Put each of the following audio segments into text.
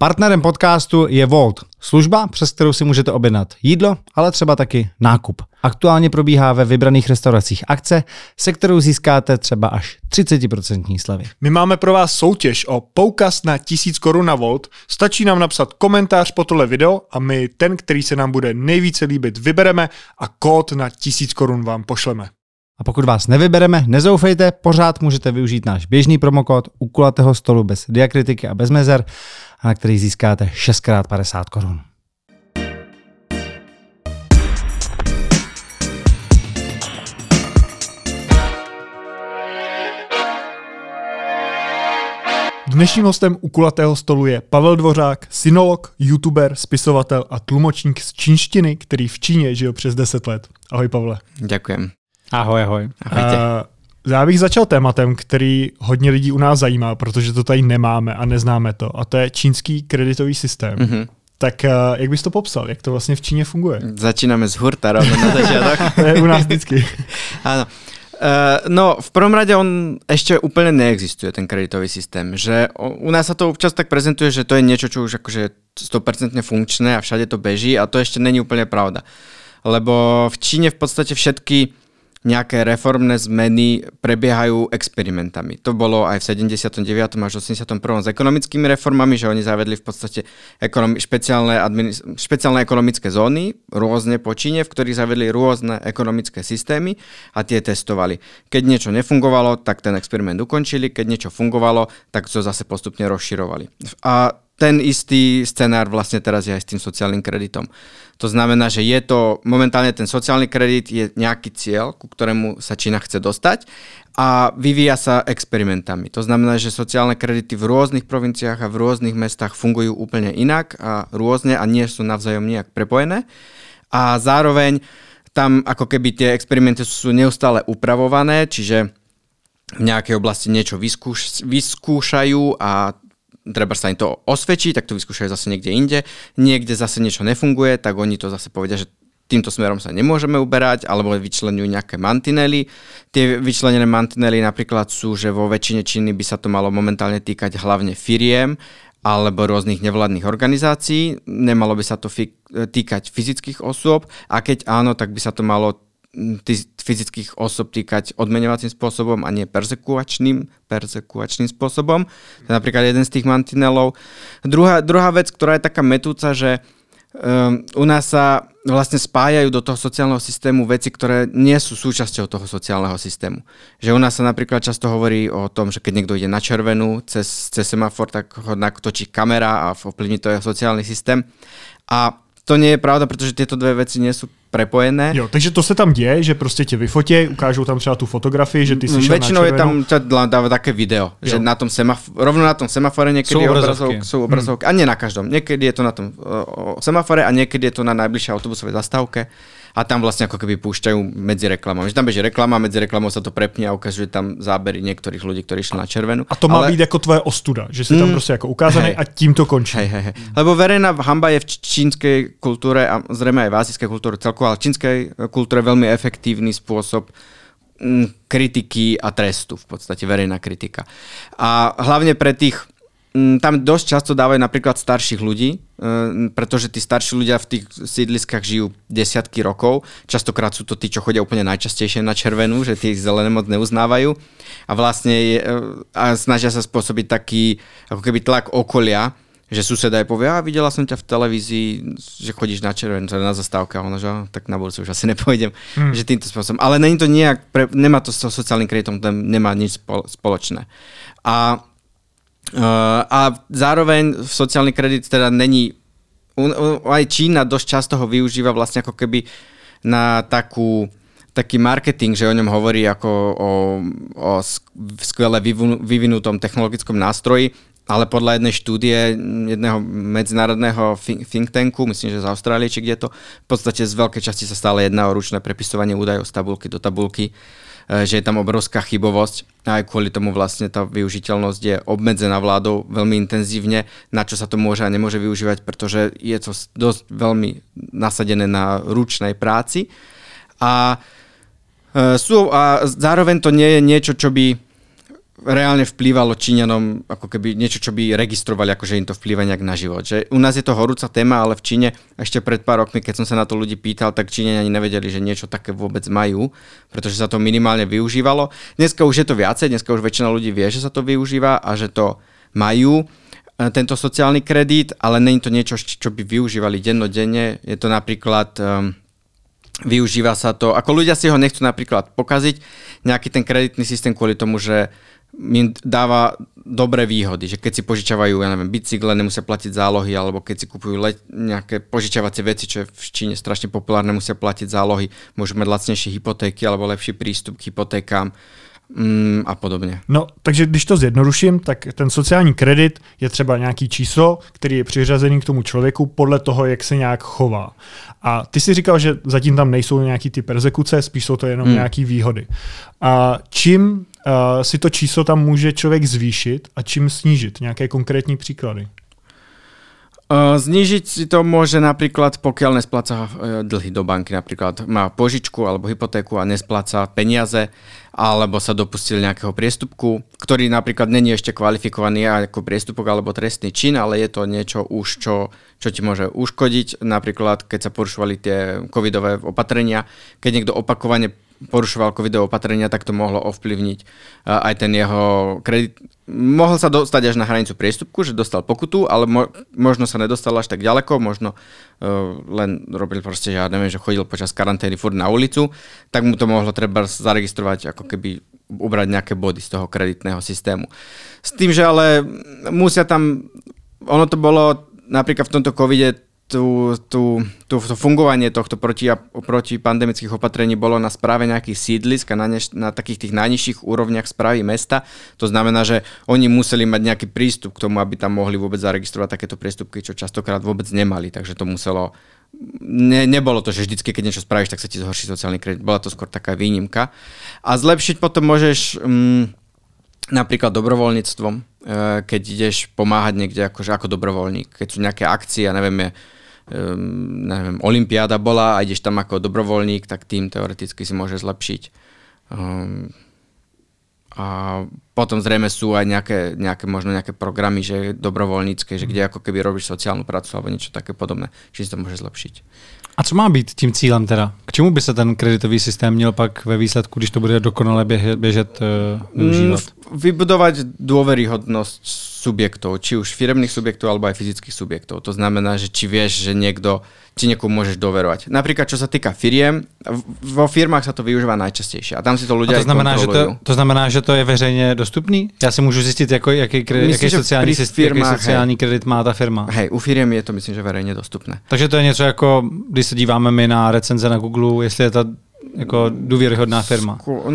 Partnerem podcastu je Wolt, služba, přes kterou si můžete objednat jídlo, ale třeba taky nákup. Aktuálně probíhá ve vybraných restauracích akce, se kterou získáte třeba až 30% slevy. My máme pro vás soutěž o poukaz na 1000 korun na Wolt. Stačí nám napsat komentář po tohle video a my ten, který se nám bude nejvíce líbit, vybereme a kód na 1000 korun vám pošleme. A pokud vás nevybereme, nezoufejte, pořád můžete využít náš běžný promokód u kulatého stolu bez diakritiky a bez mezer, na který získáte 6x 50 korun. Dnešním hostem u kulatého stolu je Pavel Dvořák, synolog, youtuber, spisovatel a tlumočník z čínštiny, který v Číně žil přes 10 let. Ahoj, Pavle. Ďakujem. Ahoj, ahoj. Já bych začal tématem, který hodně lidí u nás zajímá, protože to tady nemáme a neznáme to, a to je čínský kreditový systém. Mm-hmm. Tak jak bys to popsal? Jak to vlastně v Číně funguje? Začínáme z hurta rovno na začiatok. To je u nás vždycky. Áno. No, v prvom rade on ešte úplne neexistuje, ten kreditový systém. Že u nás sa to občas tak prezentuje, že to je niečo, čo už akože 100% funkčné a všade to beží, a to ešte není úplne pravda. Lebo v Číne v podstate všetky nejaké reformné zmeny prebiehajú experimentami. To bolo aj v 79. až 81. s ekonomickými reformami, že oni zavedli v podstate špeciálne ekonomické zóny, rôzne po Číne, v ktorých zavedli rôzne ekonomické systémy a tie testovali. Keď niečo nefungovalo, tak ten experiment ukončili, keď niečo fungovalo, tak to zase postupne rozširovali. A ten istý scenár vlastne teraz je aj s tým sociálnym kreditom. To znamená, že je to momentálne ten sociálny kredit je nejaký cieľ, ku ktorému sa Čína chce dostať a vyvíja sa experimentami. To znamená, že sociálne kredity v rôznych provinciách a v rôznych mestách fungujú úplne inak a rôzne a nie sú navzájom nejak prepojené. A zároveň tam ako keby tie experimenty sú neustále upravované, čiže v nejakej oblasti niečo vyskúšajú a treba sa im to osvedčí, tak to vyskúšajú zase niekde inde. Niekde zase niečo nefunguje, tak oni to zase povedia, že týmto smerom sa nemôžeme uberať, alebo vyčlenujú nejaké mantinely. Tie vyčlenené mantinely napríklad sú, že vo väčšine Číny by sa to malo momentálne týkať hlavne firiem alebo rôznych nevládnych organizácií. Nemalo by sa to týkať fyzických osôb a keď áno, tak by sa to malo fyzických osob týkať odmeňovacím spôsobom a nie persekuačným spôsobom. To je napríklad jeden z tých mantinelov. Druhá vec, ktorá je taká metúca, že u nás sa vlastne spájajú do toho sociálneho systému veci, ktoré nie sú súčasťou toho sociálneho systému. Že u nás sa napríklad často hovorí o tom, že keď niekto ide na červenú cez semafor, tak ho točí kamera a ovplyvní to jeho sociálny systém. A to nie je pravda, pretože tieto dve veci nie sú prepojené. Jo, takže to se tam děje, že prostě tě vyfotí, ukážou tam třeba tu fotografii, že ty si šel väčšinou na červenou. je tam dáva také video, že na tom rovno na tom semafore niekedy sú obrazovky. A nie na každom. Niekedy je to na tom semafore a niekedy je to na najbližšej autobusovej zastávke. A tam vlastne ako keby púšťajú medzi reklamami. Že tam beží reklama, medzi reklamou sa to prepne a ukazuje tam zábery niektorých ľudí, ktorí šli na červenú. A to má byť ako tvoje ostuda, že si tam prostě jako ukázaný a tím to končí. Hej. Lebo verejná hanba je v čínskej kultúre a zrejme aj v azijskej kultúre celkovo, ale v čínskej kultúre veľmi efektívny spôsob kritiky a trestu, v podstate verejná kritika. A hlavne pre tých tam dosť často dávajú napríklad starších ľudí, pretože tí starší ľudia v tých sídliskách žijú desiatky rokov. Častokrát sú to tí, čo chodia úplne najčastejšie na červenú, že tí zelené moc neuznávajú. A vlastne snažia sa spôsobiť taký ako keby tlak okolia, že suseda aj povie, videla som ťa v televízii, že chodíš na červenú, na zastávke, a ona, že tak na budúce už asi nepôjdem. Že týmto spôsobom. Ale není to nejak, nemá to s sociálnym kreditom, nemá nič spoločné. A zároveň sociálny kredit teda není, aj Čína dosť často ho využíva vlastne ako keby na taký marketing, že o ňom hovorí ako o skvele vyvinutom technologickom nástroji, ale podľa jednej štúdie jedného medzinárodného think tanku, myslím, že z Austrálie, či kde to, v podstate z veľkej časti sa stále jedná o ručné prepisovanie údajov z tabulky do tabulky, že je tam obrovská chybovosť a aj kvôli tomu vlastne tá využiteľnosť je obmedzená vládou veľmi intenzívne, na čo sa to môže a nemôže využívať, pretože je to dosť veľmi nasadené na ručnej práci a zároveň to nie je niečo, čo by reálne vplývalo Číňanom ako keby niečo, čo by registrovali, akože im to vplýva nejak na život. Že u nás je to horúca téma, ale v Číne ešte pred pár rokmi, keď som sa na to ľudí pýtal, tak Číňania ani nevedeli, že niečo také vôbec majú, pretože sa to minimálne využívalo. Dneska už je to viacej, dneska už väčšina ľudí vie, že sa to využíva a že to majú tento sociálny kredit, ale nie je to niečo, čo by využívali dennodenne. Je to napríklad... Využíva sa to, ako ľudia si ho nechcú napríklad pokaziť, nejaký ten kreditný systém kvôli tomu, že im dáva dobré výhody, že keď si požičavajú, ja neviem, bicykle, nemusia platiť zálohy, alebo keď si kupujú nejaké požičavacie veci, čo je v Číne strašne populárne, musia platiť zálohy, môžu mať lacnejšie hypotéky alebo lepší prístup k hypotékám a podobně. No, takže když to zjednoduším, tak ten sociální kredit je třeba nějaký číslo, který je přiřazený k tomu člověku podle toho, jak se nějak chová. A ty si říkal, že zatím tam nejsou nějaký ty persekuce, spíš jsou to jenom nějaký výhody. A čím si to číslo tam může člověk zvýšit a čím snížit? Nějaké konkrétní příklady? Znížiť si to môže napríklad, pokiaľ nespláca dlhy do banky, napríklad má požičku alebo hypotéku a nespláca peniaze, alebo sa dopustil nejakého priestupku, ktorý napríklad není ešte kvalifikovaný ako priestupok alebo trestný čin, ale je to niečo už, čo ti môže uškodiť. Napríklad, keď sa porušovali tie covidové opatrenia, keď niekto opakovane porušoval covidové opatrenia, tak to mohlo ovplyvniť aj ten jeho kredit. Mohol sa dostať až na hranicu priestupku, že dostal pokutu, ale možno sa nedostal až tak ďaleko, možno len robil proste, ja neviem, že chodil počas karantény furt na ulicu, tak mu to mohlo treba zaregistrovať, ako keby ubrať nejaké body z toho kreditného systému. S tým, že ale musia tam, ono to bolo napríklad v tomto covide, to fungovanie tohto protipandemických opatrení bolo na správe nejakých sídlisk a na takých tých najnižších úrovniach správy mesta. To znamená, že oni museli mať nejaký prístup k tomu, aby tam mohli vôbec zaregistrovať takéto priestupky, čo častokrát vôbec nemali. Takže to muselo... Nebolo to, že vždycky, keď niečo spravíš, tak sa ti zhorší sociálny kredit. Bola to skôr taká výnimka. A zlepšiť potom môžeš... napríklad dobrovoľníctvom, keď ideš pomáhať niekde ako dobrovoľník, keď sú nejaké akcie, ja neviem, olympiáda bola a ideš tam ako dobrovoľník, tak tým teoreticky si môže zlepšiť. A potom zrejme sú aj nejaké možno nejaké programy, že dobrovoľnícke, že kde ako keby robíš sociálnu prácu alebo niečo také podobné, či si to môže zlepšiť. A co má být tím cílem teda? K čemu by se ten kreditový systém měl pak ve výsledku, když to bude dokonale běžet, využívat? Vybudovať dôveryhodnosť subjektov, či už firemných subjektov alebo aj fyzických subjektov. To znamená, že či vieš, že či niekomu môžeš doverovať. Napríklad, čo sa týka firiem, vo firmách sa to využíva najčastejšie a tam si to ľudia aj kontrolujú. To znamená, že to je veřejně dostupný? Já si můžu zjistit, jaký sociální kredit má ta firma. Hej, u firiem je to myslím, že verejne dostupné. Takže to je něco jako, když se díváme my na recenze na Google, jestli je ta jako důvěryhodná firma.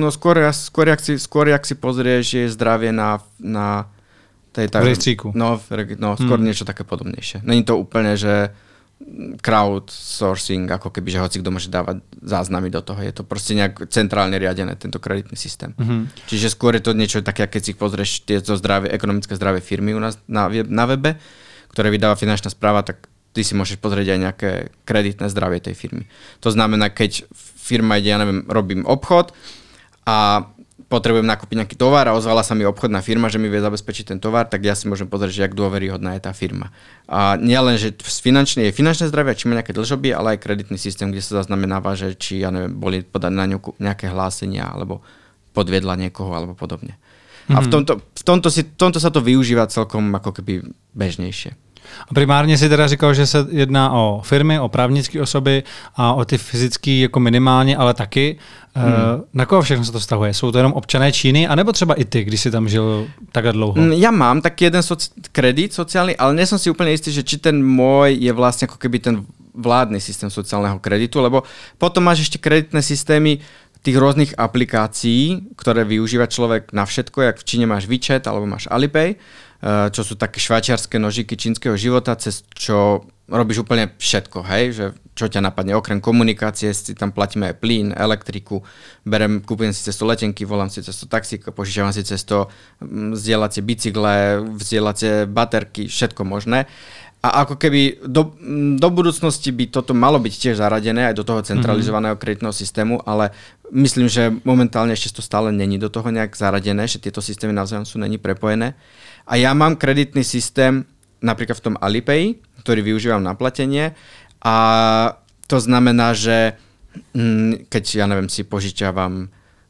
Skôr jak si pozrieš, že je zdravie na tej v rejstříku. Skôr niečo také podobnejšie. Není to úplne, že crowdsourcing, ako keby, že hoci kto môže dávať záznamy do toho. Je to proste nejak centrálne riadené, tento kreditný systém. Čiže skôr je to niečo také, keď si pozrieš tieto ekonomické zdravé firmy u nás na webe, ktoré vydáva finančná správa, tak ty si môžeš pozrieť aj nejaké kreditné zdravie tej firmy. To znamená, keď firma ide, ja neviem, robím obchod a potrebujem nakúpiť nejaký tovar a ozvala sa mi obchodná firma, že mi vie zabezpečiť ten tovar, tak ja si môžem pozrieť, že jak dôveryhodná je tá firma. A nie len, že je finančné zdravie, či má nejaké dlžoby, ale aj kreditný systém, kde sa zaznamenáva, že či, ja neviem, boli podané na ňu nejaké hlásenia, alebo podviedla niekoho, alebo podobne. A v tomto sa to využíva celkom ako keby bežnejšie. A primárně si teda říkal, že se jedná o firmy, o právnické osoby a o ty fyzické jako minimálně, ale taky. Na koho všechno se to vztahuje? Jsou to jenom občané Číny, anebo třeba i ty, když si tam žil takhle dlouho? Ja mám taký jeden kredit sociálny, ale nie som si úplne istý, že či ten môj je vlastne ako keby ten vládny systém sociálneho kreditu, lebo potom máš ešte kreditné systémy tých rôznych aplikácií, ktoré využíva človek na všetko, jak v Číne máš WeChat alebo máš Alipay. čo sú také švajčiarske nožiky čínskeho života, cez čo robíš úplne všetko, hej, že čo ťa napadne, okrem komunikácie, si tam platíme aj plyn, elektriku, kúpujem si cez to letenky, volám si cez to taxík, požičiavam si cez to zdieľacie bicykle, zdieľacie baterky, všetko možné. A ako keby do budúcnosti by toto malo byť tiež zaradené aj do toho centralizovaného kreditného systému, ale myslím, že momentálne ešte to stále není do toho nejak zaradené, že tieto systémy navzájom sú není prepojené. A ja mám kreditný systém napríklad v tom Alipay, ktorý využívam na platenie a to znamená, že keď, ja neviem, si požičiavam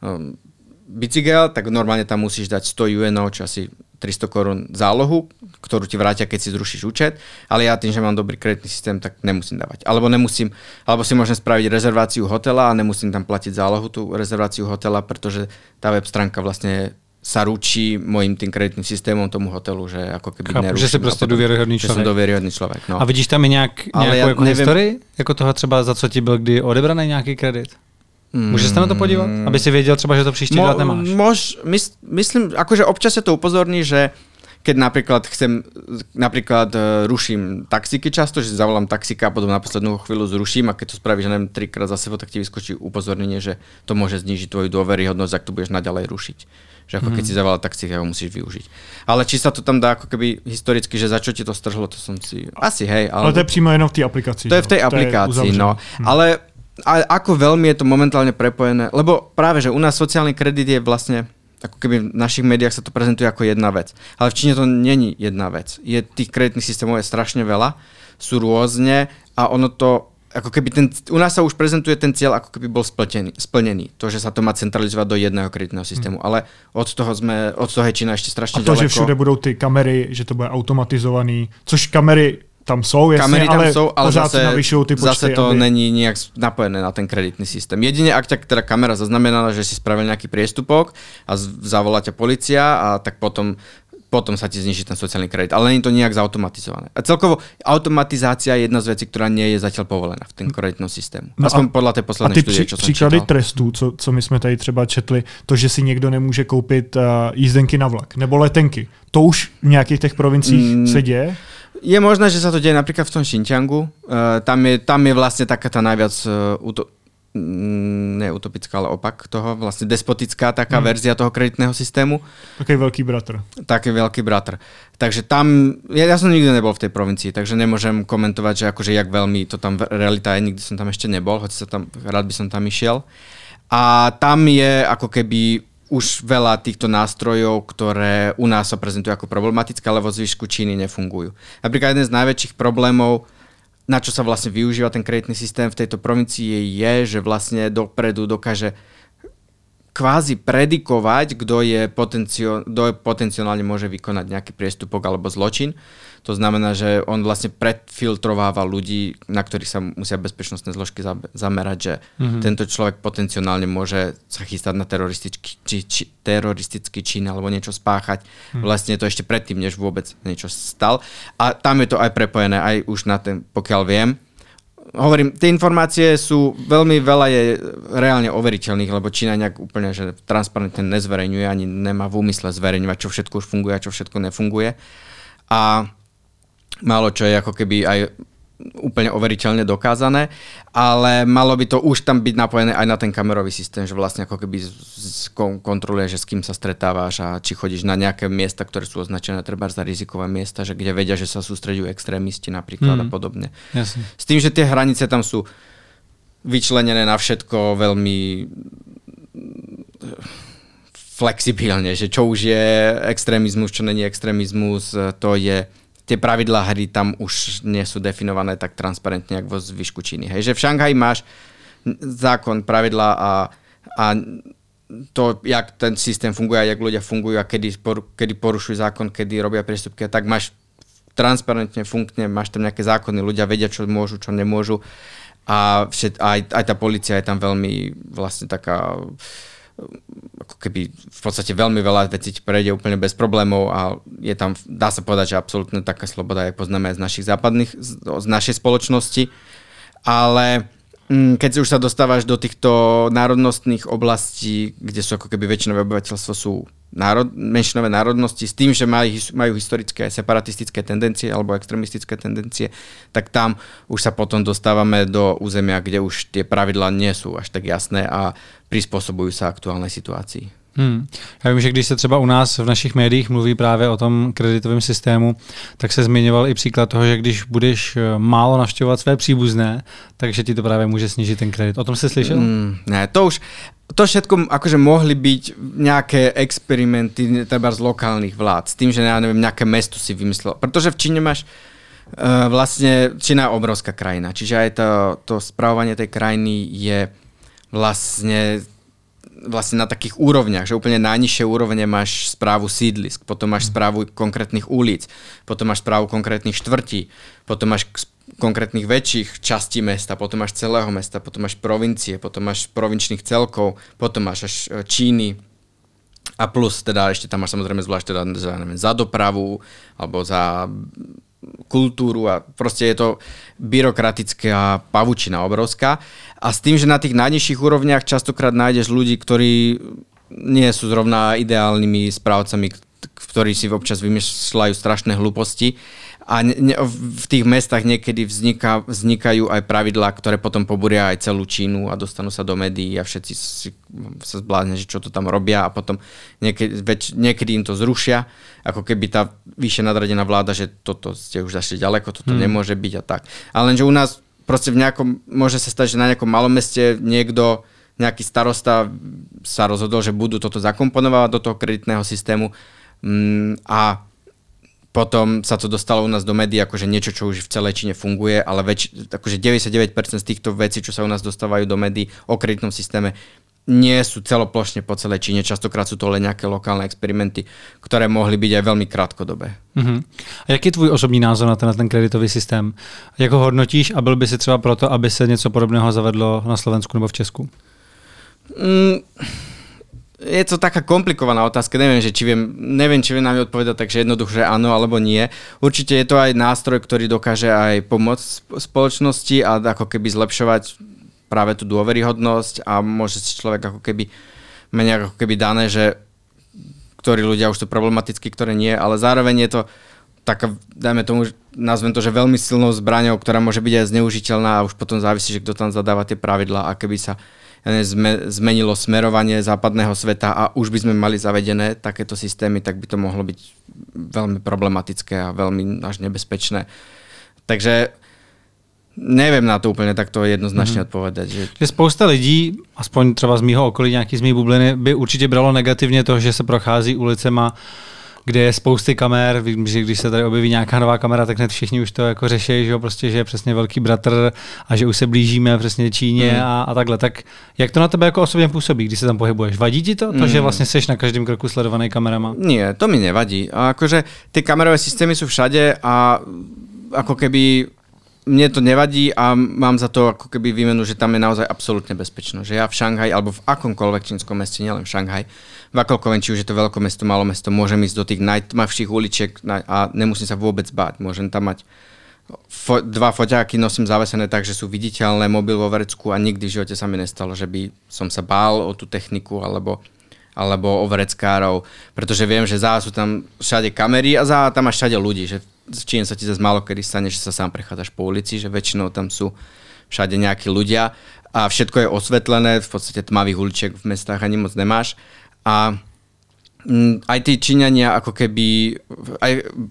bicykel, tak normálne tam musíš dať 100 UNO, čo asi 300 korún zálohu, ktorú ti vrátia, keď si zrušíš účet, ale ja tým, že mám dobrý kreditný systém, tak nemusím dávať. Alebo si môžem spraviť rezerváciu hotela a nemusím tam platiť zálohu, tú rezerváciu hotela, pretože tá web stránka vlastne sa ručí mojím tým kreditným systémom tomu hotelu, že ako keby neruším. Že si prostě důvěryhodný člověk. Že jsem důvěryhodný člověk, no. A vidíš tam i nějakou jako historii? Jako toho třeba, za co ti byl kdy odebraný nějaký kredit? Můžeš se na to podívat? Aby si věděl třeba, že to příští dělat nemáš. Myslím, akože občas sa to upozorní, že keď napríklad ruším taxíky často, že zavolám taxíka a potom na poslednú chvíľu zruším a keď to spravíš, že neviem, 3-krát za sebou, tak ti vyskočí upozornenie, že to môže znížiť tvoju dôveryhodnosť, ak to budeš naďalej rušiť. Že ako keď si zavolal taxíka, ho musíš využiť. Ale či sa to tam dá ako keby historicky, že za čo ti to strhlo, to som si... Asi hej. Ale to je přímo jenom v té aplikaci. To je v tej aplikácii, no. Ale ako veľmi je to momentálne prepojené, lebo práve, že u nás sociálny kredit je vlastne, ako keby v našich médiách sa to prezentuje ako jedna vec. Ale v Číne to není jedna vec. Tých kreditných systémov je strašne veľa, sú rôzne a ono to, ako keby u nás sa už prezentuje ten cieľ, ako keby bol splnený. To, že sa to má centralizovať do jedného kreditného systému. Ale od toho je Čína ešte strašne ďaleko. A to, že všude budou ty kamery, že to bude automatizovaný, což kamery tam jsou, jasně, kamery tam jsou, ale zase to aby... není nejak napojené na ten kreditný systém. Jedine, ak ťa teda kamera zaznamenala, že si spravil nejaký priestupok a zavolá ťa policia a tak potom sa ti zniží ten sociálny kredit. Ale nie je to nejak zautomatizované. A celkovo automatizácia je jedna z vecí, ktorá nie je zatiaľ povolená v tom kreditnom systému. No aspoň podľa tej poslednej štúdie, čo som čítal. Příklady trestů, co my jsme tady třeba četli, to, že si někdo nemůže koupit jízdenky na vlak nebo letenky. To už v nějakých těch provinciích se děje? Je možné, že sa to deje napríklad v tom Xinjiangu. Tam je vlastne taká tá najviac ne utopická, ale opak toho, vlastne despotická taká verzia toho kreditného systému. Taký veľký bratr. Taký veľký bratr. Takže tam, ja som nikdy nebol v tej provincii, takže nemôžem komentovať, že akože jak veľmi to tam realita je, nikdy som tam ešte nebol, hoci rád by som tam išiel. A tam je ako keby už veľa týchto nástrojov, ktoré u nás sa prezentujú ako problematické, ale vo zvyšku Číny nefungujú. Napríklad jeden z najväčších problémov, na čo sa vlastne využíva ten kreditný systém v tejto provincii je, že vlastne dopredu dokáže kvázi predikovať, kto potenciálne môže vykonať nejaký priestupok alebo zločin. To znamená, že on vlastne predfiltrováva ľudí, na ktorých sa musia bezpečnostné zložky zamerať, že tento človek potenciálne môže sa chystať na teroristický čin alebo niečo spáchať. Vlastne to ešte predtým, než vôbec niečo stal. A tam je to aj prepojené, aj už na ten, pokiaľ viem. Hovorím, tie informácie sú veľmi veľa je reálne overiteľných, lebo Čína nejak úplne že transparentne nezverejňuje, ani nemá v úmysle zverejňovať, čo všetko už funguje a čo všetko nefunguje. A málo čo je ako keby aj úplne overiteľne dokázané, ale malo by to už tam byť napojené aj na ten kamerový systém, že vlastne ako keby kontroluje, že s kým sa stretávaš a či chodíš na nejaké miesta, ktoré sú označené treba za rizikové miesta, že kde vedia, že sa sústreďujú extrémisti napríklad a podobne. Jasne. S tým, že tie hranice tam sú vyčlenené na všetko veľmi flexibilne, že čo už je extrémizmus, čo není extrémizmus, to je tie pravidlá hry tam už nie sú definované tak transparentne, ako vo zvyšku Číny. Hej, že v Šanghaji máš zákon, pravidlá a to, jak ten systém funguje, jak ľudia fungujú a kedy porušujú zákon, kedy robia priestupky, tak máš transparentne, funkčne, máš tam nejaké zákony, ľudia vedia, čo môžu, čo nemôžu a aj tá polícia je tam veľmi vlastne taká ako keby v podstate veľmi veľa vecí ti prejde úplne bez problémov a je tam, dá sa povedať, že absolútne taká sloboda, jak poznáme aj z našich západných, z našej spoločnosti. Ale keď už sa dostávaš do týchto národnostných oblastí, kde sú ako keby väčšinové obyvateľstvo sú menšinové národnosti s tým, že majú historické separatistické tendencie alebo extremistické tendencie, tak tam už sa potom dostávame do územia, kde už tie pravidlá nie sú až tak jasné a prispôsobujú sa aktuálnej situácii. Já vím, že když se třeba u nás v našich médiích mluví právě o tom kreditovém systému, tak se zmiňoval i příklad toho, že když budeš málo navštěvovat své příbuzné, takže ti to právě může snížit ten kredit. O tom jsi slyšel? Ne, to všetko akože mohli byť nejaké experimenty treba z lokálnych vlád, s tým, že ja neviem, nejaké mesto si vymyslel. Pretože v Číne máš vlastne, Čína je obrovská krajina, čiže aj to spravovanie tej krajiny je vlastne na takých úrovniach, že úplne najnižšie úrovne máš správu sídlisk, potom máš správu konkrétnych ulic, potom máš správu konkrétnych štvrtí, potom máš konkrétnych väčších častí mesta, potom máš celého mesta, potom máš provincie, potom máš provinčných celkov, potom máš až Číny a plus teda ešte tam máš samozrejme zvlášť teda za dopravu alebo za kultúru a proste je to byrokratická pavučina obrovská. A s tým, že na tých najnižších úrovniach častokrát nájdeš ľudí, ktorí nie sú zrovna ideálnymi správcami, ktorí si občas vymýšľajú strašné hlúposti. A v tých mestách niekedy vznikajú aj pravidlá, ktoré potom pobúria aj celú Čínu a dostanú sa do médií a všetci sa zbláznia, že čo to tam robia a potom niekedy im to zrušia, ako keby tá vyššie nadradená vláda, že toto ste už zašli ďaleko, toto nemôže byť a tak. Ale lenže u nás proste môže sa stať, že na nejakom malom meste nejaký starosta sa rozhodol, že budú toto zakomponovať do toho kreditného systému a potom sa to dostalo u nás do médií akože niečo, čo už v celej Číne funguje, ale akože 99% z týchto vecí, čo sa u nás dostávajú do médií o kreditnom systéme, nie sú celoplošne po celej Číne. Častokrát sú to len nejaké lokálne experimenty, ktoré mohli byť aj veľmi krátkodobé. A jaký je tvůj osobní názor na ten kreditový systém? Jak ho hodnotíš a byl by si třeba proto, aby se něco podobného zavedlo na Slovensku nebo v Česku? Je to taká komplikovaná otázka, neviem, či viem na mňa odpovedať, takže jednoducho, že áno alebo nie. Určite je to aj nástroj, ktorý dokáže aj pomôcť spoločnosti a ako keby zlepšovať práve tú dôveryhodnosť a môže si človek ako keby menej ako keby dané, že ktorí ľudia už sú problematickí, ktoré nie, ale zároveň je to taká, dajme tomu, nazvem to, že veľmi silnou zbraňou, ktorá môže byť aj zneužiteľná a už potom závisí, že kto tam zadáva tie pravidlá a keby sa zmenilo smerovanie západného sveta a už by sme mali zavedené takéto systémy, tak by to mohlo byť veľmi problematické a veľmi až nebezpečné. Takže neviem na to úplně takto jednoznačně odpovědět. Že spousta lidí, aspoň třeba z mýho okolí, nějaký z mý bubliny, by určitě bralo negativně to, že se prochází ulicema, kde je spousty kamer, vím, že když se tady objeví nějaká nová kamera, tak hned všichni už to jako řeší, že jo, prostě, že je přesně velký bratr a že už se blížíme přesně Číně a takhle. Tak jak to na tebe jako osobně působí, když se tam pohybuješ? Vadí ti to, že vlastně seš na každém kroku sledovaný kamerama? Nie, to mi nevadí. A akože tie kamerové systémy sú všade a ako keby mne to nevadí a mám za to ako keby výmenu, že tam je naozaj absolútne bezpečno. Že ja v Šanghaji alebo v akomkoľvek čínskom meste, nielen v Šanghaji, v akomkoľvek, či už je to veľkomesto, malomesto, môžem ísť do tých najtmavších uličiek a nemusím sa vôbec báť. Môžem tam mať dva foťáky, nosím zavesené tak, že sú viditeľné, mobil vo vrecku a nikdy v živote sa mi nestalo, že by som sa bál o tú techniku alebo o vreckárov, pretože viem, že sú tam všade kamery a tam máš všade ľudí, že v Číne sa ti zase málo kedy stane, že sa sám prechádzaš po ulici, že väčšinou tam sú všade nejakí ľudia a všetko je osvetlené, v podstate tmavých uličiek v mestách ani moc nemáš a aj tí Číňania ako keby, aj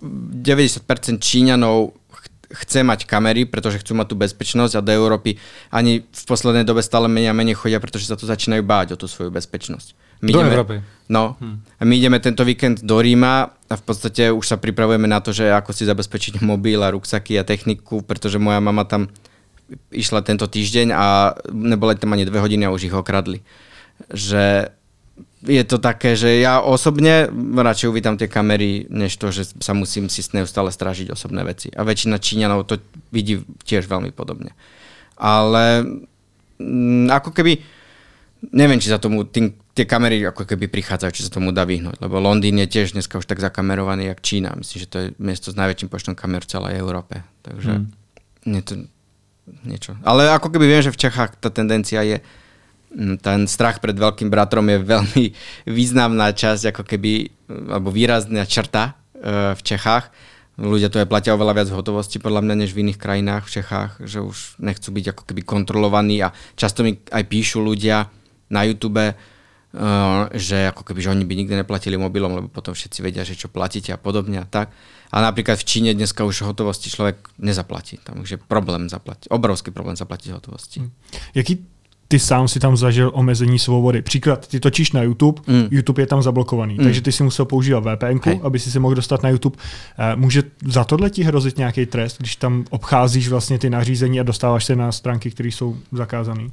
90% Číňanov chce mať kamery, pretože chcú mať tú bezpečnosť a do Európy ani v poslednej dobe stále menej a menej chodia, pretože sa to začínajú báť o tú svoju bezpečnosť. Do Európy. No. A my ideme tento víkend do Ríma a v podstate už sa pripravujeme na to, že ako si zabezpečiť mobil a ruksaky a techniku, pretože moja mama tam išla tento týždeň a neboli tam ani 2 hodiny a už ich okradli. Že je to také, že ja osobne radšej uvítam tie kamery, než to, že sa musím si neustále strážiť osobné veci. A väčšina Číňanov to vidí tiež veľmi podobne. Ale ako keby neviem, či sa tomu tie kamery ako keby prichádzajú, či sa tomu dá vyhnúť, lebo Londýn je tiež dneska už tak zakamerovaný jak Čína. Myslím, že to je miesto s najväčším počtom kamer v celej Európe. Takže nie to niečo. Ale ako keby viem, že v Čechách tá tendencia je ten strach pred veľkým bratrom je veľmi významná časť, ako keby, alebo výrazná črta v Čechách. Ľudia to aj platia oveľa viac v hotovosti, podľa mňa, než v iných krajinách v Čechách, že už nechcú byť ako keby kontrolovaní a často mi aj píšu ľudia na YouTube, že ako keby, že oni by nikdy neplatili mobilom, lebo potom všetci vedia, že čo platíte a podobne a tak. A napríklad v Číne dneska už hotovosti človek nezaplatí. Tam už je problém zaplatiť, obrovský problém zaplatiť hotovosti. Jaký ty sám si tam zažil omezení svobody? Příklad, ty točíš na YouTube, YouTube je tam zablokovaný, takže ty si musel používat VPNku, aby si mohl dostat na YouTube. Může za tohle ti hrozit nějaký trest, když tam obcházíš vlastně ty nařízení a dostáváš se na stránky, které jsou zakázané?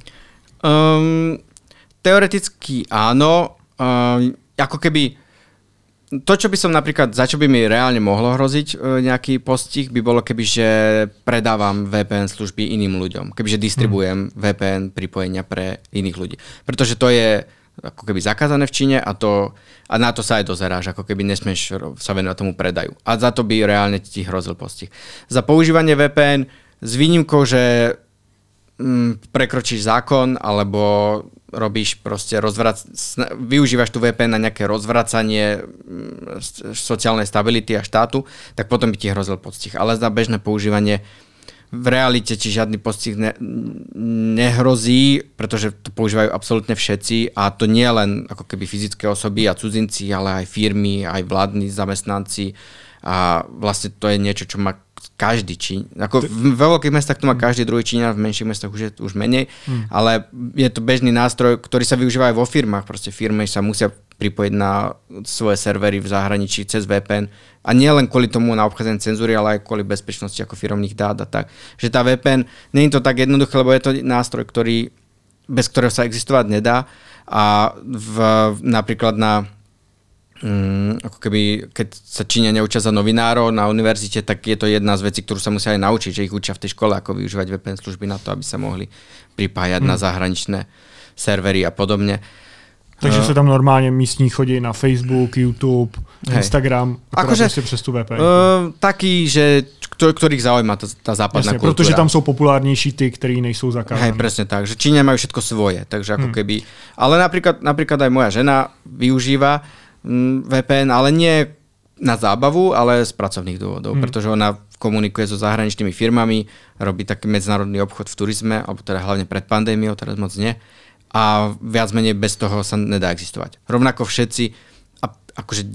Teoreticky áno. Ako keby to, čo by som napríklad, za čo by mi reálne mohlo hroziť nejaký postih, by bolo keby, že predávam VPN služby iným ľuďom. Kebyže distribujem VPN pripojenia pre iných ľudí. Pretože to je ako keby zakázané v Číne a na to sa aj dozeráš, ako keby nesmieš sa venovať tomu predaju. A za to by reálne ti hrozil postih. Za používanie VPN s výnimkou, že prekročíš zákon alebo robíš proste využívaš tú VPN na nejaké rozvracanie sociálnej stability a štátu, tak potom by ti hrozil postih. Ale za bežné používanie v realite ti žiadny postih nehrozí, pretože to používajú absolútne všetci a to nie len ako keby fyzické osoby a cudzinci, ale aj firmy, aj vládni zamestnanci a vlastne to je niečo, čo má každý Číň. Ako vo veľkých mestách to má každý druhý Číňan, v menších mestách už menej, ale je to bežný nástroj, ktorý sa využíva aj vo firmách. Proste firmy sa musia pripojiť na svoje servery v zahraničí cez VPN. A nie len kvôli tomu na obchádzanie cenzúry, ale aj kvôli bezpečnosti ako firemných dát a tak. Že tá VPN, nie je to tak jednoduché, lebo je to nástroj, bez ktorého sa existovať nedá. A napríklad ako keby, keď sa Číňania učia za novinárov na univerzite, tak je to jedna z vecí, ktorú sa musia aj naučiť, že ich učia v tej škole, ako využívať VPN služby na to, aby sa mohli pripájať na zahraničné servery a podobne. Takže sa tam normálne místní chodí na Facebook, YouTube, Instagram, akože přes tú VPN. Taký, že ktorých zaujíma tá západná kultúra. Protože tam sú populárnejší tí, ktorí nejsou zakázaní. Presne tak, že Číňania majú všetko svoje, takže ako keby... Ale napríklad aj moja žena využíva VPN, ale nie na zábavu, ale z pracovných dôvodov, pretože ona komunikuje so zahraničnými firmami, robí taký medzinárodný obchod v turizme, alebo teda hlavne pred pandémiou, teraz moc nie. A viac menej bez toho sa nedá existovať. Rovnako všetci, akože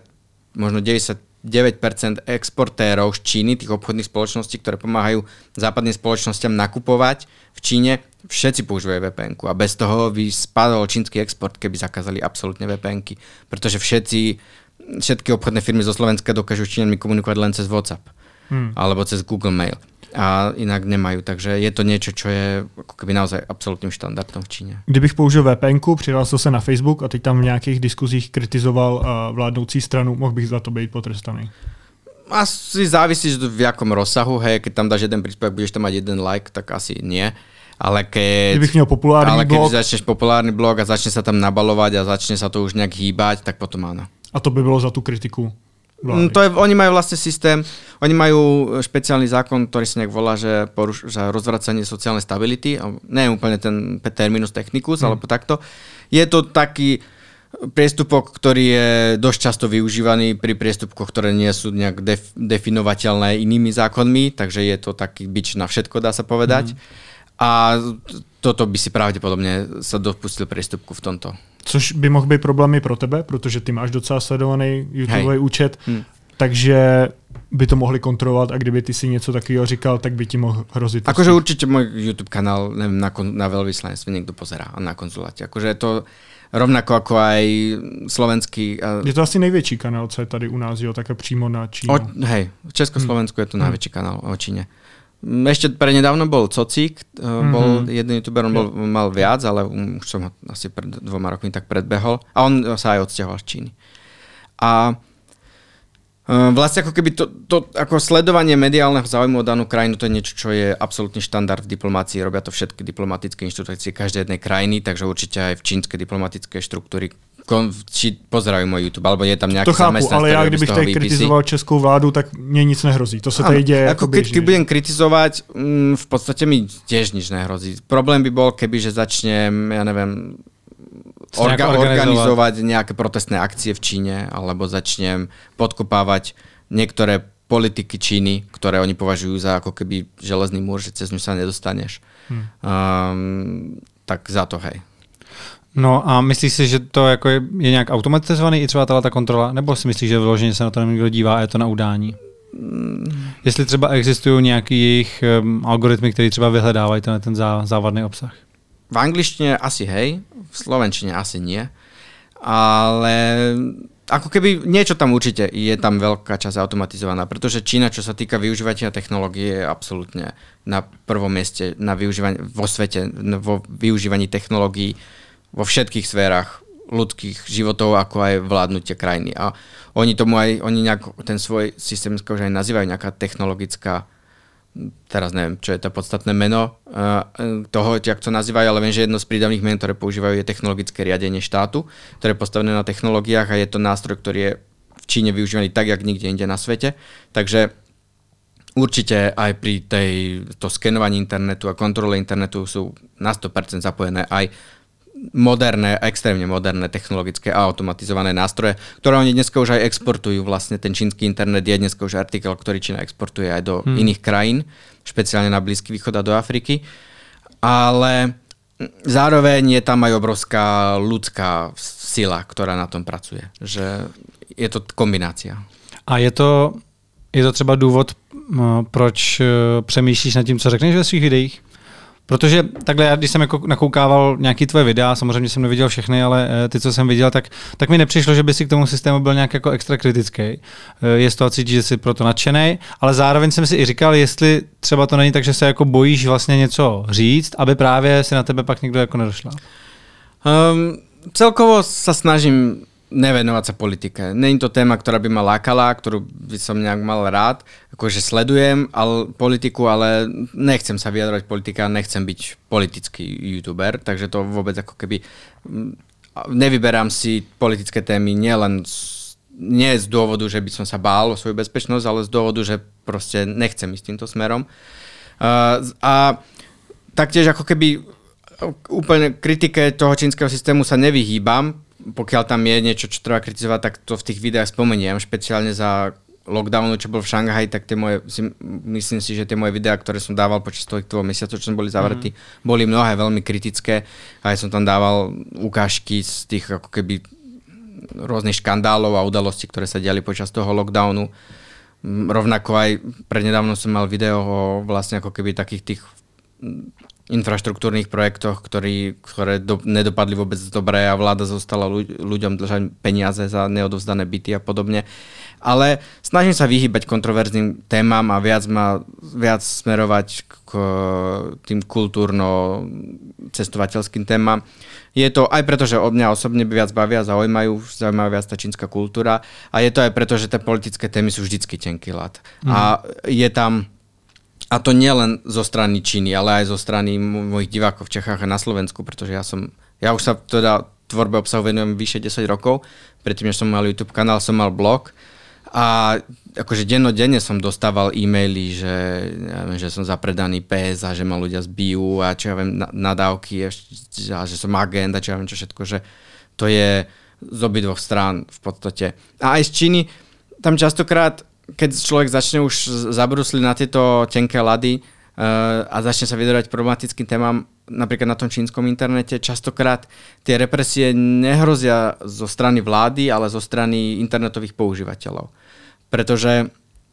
99% exportérov z Číny, tých obchodných spoločností, ktoré pomáhajú západným spoločnosťam nakupovať v Číne, všetci používajú VPN-ku a bez toho by spadol čínsky export, keby zakázali absolútne VPN-ky. Pretože všetky obchodné firmy zo Slovenska dokážu s Číňanmi komunikovať len cez WhatsApp alebo cez Google Mail. A inak nemajú, takže je to niečo, čo je ako keby naozaj absolútnym štandardom v Číne. Kdybych použil VPN-ku, přihlásil se na Facebook a teď tam v nějakých diskuzích kritizoval vládnoucí stranu, mohl bych za to být potrestaný? Asi závisí, v jakom rozsahu, hej, keď tam dáš jeden príspevok, budeš tam mať jeden like, tak asi nie. Ale keď začneš populárny blog a začne sa tam nabalovať a začne sa to už nejak hýbať, tak potom áno. A to by bylo za tú kritiku? Oni majú vlastne systém, oni majú špeciálny zákon, ktorý sa nejak volá, že rozvracanie sociálnej stability, nie je úplne ten terminus technicus, alebo takto. Je to taký priestupok, ktorý je dosť často využívaný pri priestupkoch, ktoré nie sú nejak definovateľné inými zákonmi, takže je to taký bič na všetko, dá sa povedať. A toto by si pravděpodobně se dopustil priestupku v tomto. Což by mohl být problémy pro tebe, protože ty máš docela sledovaný YouTubeový účet, takže by to mohli kontrolovat a kdyby ty si něco takového říkal, tak by ti mohl hrozit. Akože určitě můj YouTube kanál na veľvyslanectve niekto pozerá a na konzuláte. Akože to rovnako ako aj slovenský... Je to asi největší kanál, co je tady u nás, jo, také přímo na Čínu. Hej, v Československu je to najväčší kanál o Číne. Ešte prednedávno bol Cocík, bol jeden youtuber, on mal viac, ale už som ho asi pred 2 rokmi tak predbehol. A on sa aj odsťahoval z Číny. A vlastne ako keby to ako sledovanie mediálneho záujmu o danú krajinu, to je niečo, čo je absolútny štandard v diplomácii. Robia to všetky diplomatické inštitúcie každej jednej krajiny, takže určite aj v čínske diplomatické štruktúry či pozerajú môj YouTube, alebo je tam nejaký to chápu, zamestnanec, ale já kdybych tady kritizoval českou vládu, tak mně nic nehrozí. To se tady děje jako běžně. Keď budem kritizovať, v podstate mi tiež nič nehrozí. Problém by bol, keby že začnem, ja neviem, organizovať nejaké protestné akcie v Číne, alebo začnem podkopávať niektoré politiky Číny, ktoré oni považujú za ako keby železný múr, že cez ňu sa nedostaneš. Tak za to, hej. No a myslíš si, že to jako je nějak automatizovaný i třeba ta kontrola? Nebo si myslíš, že vyloženě se na to někdo dívá a je to na udání? Jestli třeba existují nějaký jejich algoritmy, které třeba vyhledávají ten závadný obsah? V angličtine asi hej, v slovenčine asi nie, ale ako keby niečo tam určite je tam veľká časť automatizovaná, pretože Čína, čo sa týka využívania technológie, je absolútne na prvom mieste na vo svete, vo využívaní technológií vo všetkých sférach ľudských životov, ako aj vládnutie krajiny. A oni nejak ten svoj systém už aj nazývajú nejaká technologická, teraz neviem, čo je to podstatné meno toho, jak to nazývajú, ale viem, že jedno z prídavných men, ktoré používajú, je technologické riadenie štátu, ktoré je postavené na technológiách a je to nástroj, ktorý je v Číne využívaný tak, jak nikde inde na svete. Takže určite aj pri to skenovaní internetu a kontrole internetu sú na 100% zapojené aj moderné, extrémne moderné technologické a automatizované nástroje, ktoré oni dneska už aj exportujú. Vlastne ten čínsky internet je dneska už artikel, ktorý Čína exportuje aj do iných krajín, špeciálne na Blízky východ a do Afriky. Ale zároveň je tam aj obrovská ľudská sila, ktorá na tom pracuje. Že je to kombinácia. A je to třeba důvod, proč přemýšlíš nad tím, co řekneš ve svých videích? Protože takhle já, když jsem jako nakoukával nějaký tvoje videa, samozřejmě jsem neviděl všechny, ale ty, co jsem viděl, tak mi nepřišlo, že by si k tomu systému byl nějak jako extra kritický. Je z toho cítit, že jsi proto nadšenej, ale zároveň jsem si i říkal, jestli třeba to není tak, že se jako bojíš vlastně něco říct, aby právě si na tebe pak někdo jako nedošla. Celkovo sa snažím nevenovať sa politike. Není to téma, ktorá by ma lákala, ktorú by som nejak mal rád. Akože sledujem politiku, ale nechcem sa vyjadrovať politike a nechcem byť politický youtuber, takže to vôbec ako keby nevyberám si politické témy nie z dôvodu, že by som sa bál o svoju bezpečnosť, ale z dôvodu, že proste nechcem ísť týmto smerom. A taktiež ako keby úplne kritike toho čínskeho systému sa nevyhýbam. Pokiaľ tam je niečo, čo treba kritizovať, tak to v tých videách spomeniem, špeciálne za lockdownu, čo bol v Šanghaji, tak myslím si, že tie moje videá, ktoré som dával počas toho 2 mesiacov, čo som boli zavretí, boli mnohé veľmi kritické. A ja som tam dával ukážky z tých ako keby rôznych škandálov a udalostí, ktoré sa diali počas toho lockdownu. Rovnako aj prednedávno som mal video o vlastne ako keby takých tých infraštruktúrnych projektoch, ktoré nedopadli vôbec dobre a vláda zostala ľuďom držať peniaze za neodovzdané byty a podobne. Ale snažím sa vyhýbať kontroverzným témam a viac smerovať k tým kultúrno-cestovateľským témam. Je to aj preto, že od mňa osobne viac bavia, zaujímajú viac tá čínska kultúra a je to aj preto, že tie politické témy sú vždycky tenký ľad. A je tam a to nie len zo strany Číny, ale aj zo strany mojich divákov v Čechách a na Slovensku, pretože ja už sa teda tvorbe obsahu venujem vyše 10 rokov. Predtým, než som mal YouTube kanál, som mal blog a akože dennodenne som dostával e-maily, že som zapredaný pes a že ma ľudia zbijú a čo ja viem, nadávky a že som agent a čo ja viem čo všetko, že to je z obidvoch strán v podstate. A aj z Číny, tam častokrát keď človek začne už zabrusliť na tieto tenké ľady a začne sa vyjadrovať problematickým témam, napríklad na tom čínskom internete, častokrát tie represie nehrozia zo strany vlády, ale zo strany internetových používateľov. Pretože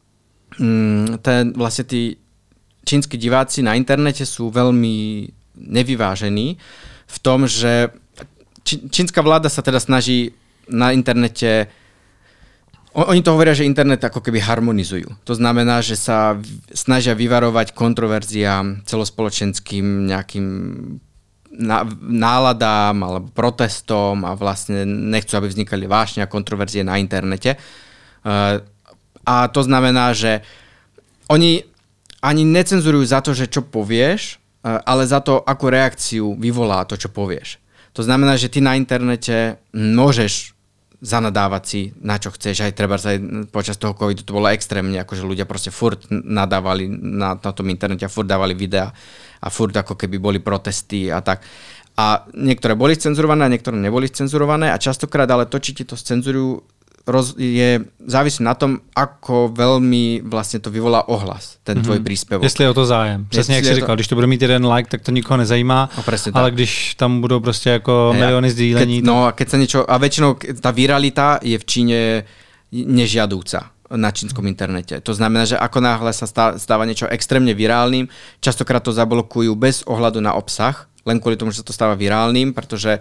vlastne tí čínsky diváci na internete sú veľmi nevyvážení v tom, že čínska vláda sa teda snaží na internete. Oni to hovoria, že internet ako keby harmonizujú. To znamená, že sa snažia vyvarovať kontroverziám, celospoločenským nejakým náladám alebo protestom a vlastne nechcú, aby vznikali vášne a kontroverzie na internete. A to znamená, že oni ani necenzurujú za to, že čo povieš, ale za to, akú reakciu vyvolá to, čo povieš. To znamená, že ty na internete môžeš zanadávať si na čo chceš, aj treba aj počas toho covidu to bolo extrémne, akože ľudia proste furt nadávali na tom internete a furt dávali videá a furt ako keby boli protesty a tak. A niektoré boli cenzurované a niektoré neboli cenzurované a častokrát ale to, či ti to cenzurujú, závisí na tom, ako veľmi vlastne to vyvolá ohlas, ten tvoj príspěvok. Jestli je o to zájem. Přesně jak jsi říkal, když to bude mít jeden like, tak to nikoho nezajímá, ale když tam budou prostě jako miliony sdílení. No a keď sa niečo, a väčšinou tá viralita je v Číne nežiadúca na čínskom internete. To znamená, že ako náhle sa stáva niečo extrémne virálnym, častokrát to zablokujú bez ohľadu na obsah, len kvôli tomu, že sa to stáva virálnym, pretože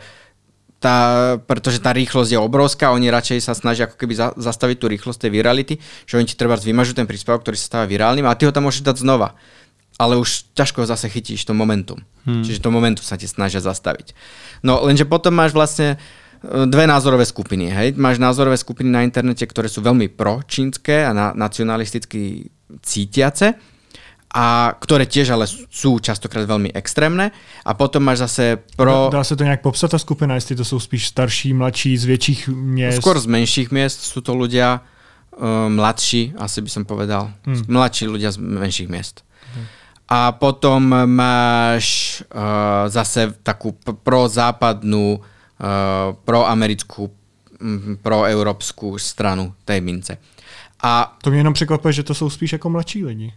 tá rýchlosť je obrovská, oni radšej sa snažia ako keby zastaviť tú rýchlosť tej virality, že oni ti treba vymažú ten príspevok, ktorý sa stáva virálnym a ty ho tam môžeš dať znova. Ale už ťažko zase chytíš to momentum. Čiže to momentum sa ti snažia zastaviť. No lenže potom máš vlastne dve názorové skupiny. Hej? Máš názorové skupiny na internete, ktoré sú veľmi pročínske a nacionalisticky cítiace, a ktoré tiež ale sú častokrát veľmi extrémne. A potom máš zase Dá se to nejak popsat, ta skupina, jestli to jsou spíš starší, mladší, z větších měst? Skôr z menších miest sú to ľudia, mladší, asi by som povedal. Mladší ľudia z menších miest. A potom máš zase takú prozápadnú, proamerickú, proeurópsku stranu tej mince. A to mě jenom překvapuje, že to jsou spíš jako mladší lidi.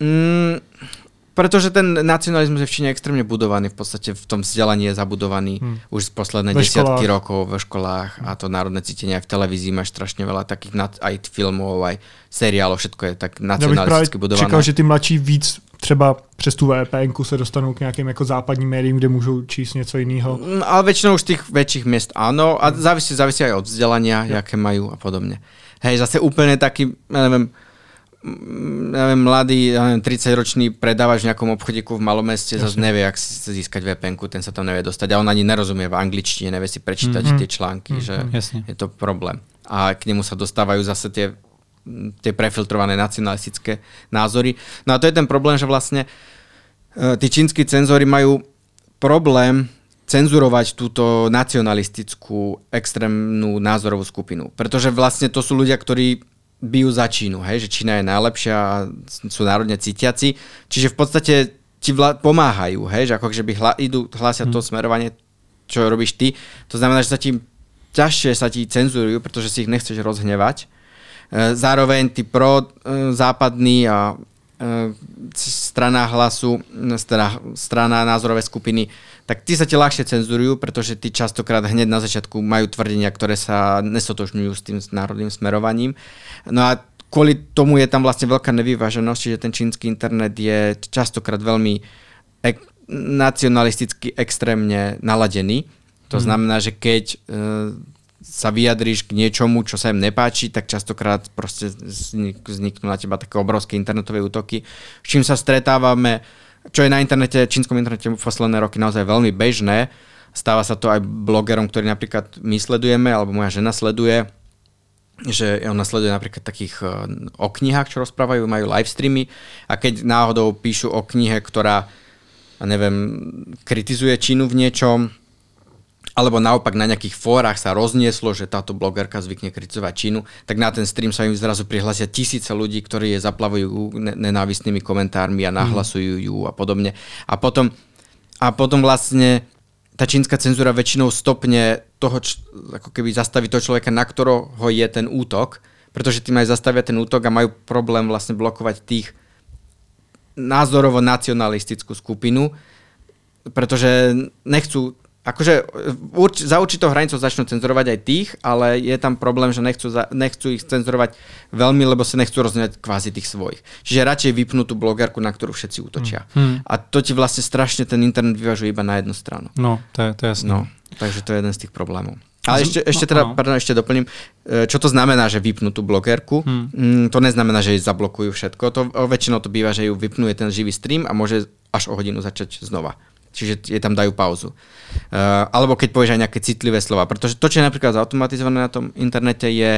Pretože ten nacionalizmus je v Číne extrémne budovaný, v podstate v tom vzdelaní je zabudovaný už z posledné desiatky rokov ve školách a to národné cítenie aj v televízii máš strašne veľa takých aj filmov, aj seriálov, všetko je tak nacionalisticky budované. Já bych čekal, že ty mladší víc třeba přes tu VPN-ku se dostanou k nějakým jako západním médiím, kde můžou číst něco jiného. Ale väčšinou už z tých väčších miest áno a závisí aj od vzdelania, jaké majú a podobne. Hej, zase úplne taký, neviem, mladý, 30-ročný predávač v nejakom obchodíku v malom meste zase nevie, jak si získať VPN-ku, ten sa tam nevie dostať a on ani nerozumie v angličtine, nevie si prečítať tie články, že je to problém. A k nemu sa dostávajú zase tie prefiltrované nacionalistické názory. No a to je ten problém, že vlastne tí čínsky cenzori majú problém cenzurovať túto nacionalistickú extrémnu názorovú skupinu, pretože vlastne to sú ľudia, ktorí bijú za Čínu, hej, že Čína je najlepšia a sú národne cítiaci. Čiže v podstate ti pomáhajú, hej, že ako keby hlásia to smerovanie, čo robíš ty. To znamená, že ťažšie sa ti cenzurujú, pretože si ich nechceš rozhnevať. Zároveň tí prozápadní a strana hlasu, strana názorové skupiny, tak tí sa ti ľahšie cenzurujú, pretože tí častokrát hneď na začiatku majú tvrdenia, ktoré sa nestotožňujú s tým národným smerovaním. No a kvôli tomu je tam vlastne veľká nevyváženosť, že ten čínsky internet je častokrát veľmi nacionalisticky extrémne naladený. To znamená, že keď sa vyjadríš k niečomu, čo sa im nepáči, tak častokrát proste vzniknú na teba také obrovské internetové útoky. S čím sa stretávame, čo je na internete, čínskom internete v posledné roky naozaj veľmi bežné. Stáva sa to aj blogerom, ktorí napríklad my sledujeme, alebo moja žena sleduje, že ona sleduje napríklad takých o knihách, čo rozprávajú, majú live streamy a keď náhodou píšu o knihe, ktorá, neviem, kritizuje Čínu v niečom, alebo naopak na nejakých fórach sa roznieslo, že táto blogerka zvykne kritizovať Čínu, tak na ten stream sa im zrazu prihlasia tisíce ľudí, ktorí je zaplavujú nenávistnými komentármi a nahlasujú ju a podobne. A potom vlastne tá čínska cenzúra väčšinou stopne toho, ako keby zastaví toho človeka, na ktorého je ten útok, pretože tým aj zastavia ten útok a majú problém vlastne blokovať tých názorovo nacionalistickú skupinu, pretože nechcú. Akože za určitou hranicou začnú cenzurovať aj tých, ale je tam problém, že nechcú ich cenzurovať veľmi, lebo sa nechcú rozňať kvázi tých svojich. Čiže radšej vypnú tú blogerku, na ktorú všetci útočia. A to ti vlastne strašne ten internet vyvažuje iba na jednu stranu. No, to je jasné. No, takže to je jeden z tých problémov. Ale ešte doplním, čo to znamená, že vypnú tú blogerku. To neznamená, že jej zablokujú všetko. Väčšinou to býva, že ju vypnú ten živý stream a môže až o hodinu začať znova. Čiže je tam dajú pauzu. Alebo keď povieš aj nejaké citlivé slova. Pretože to, čo je napríklad zautomatizované na tom internete, je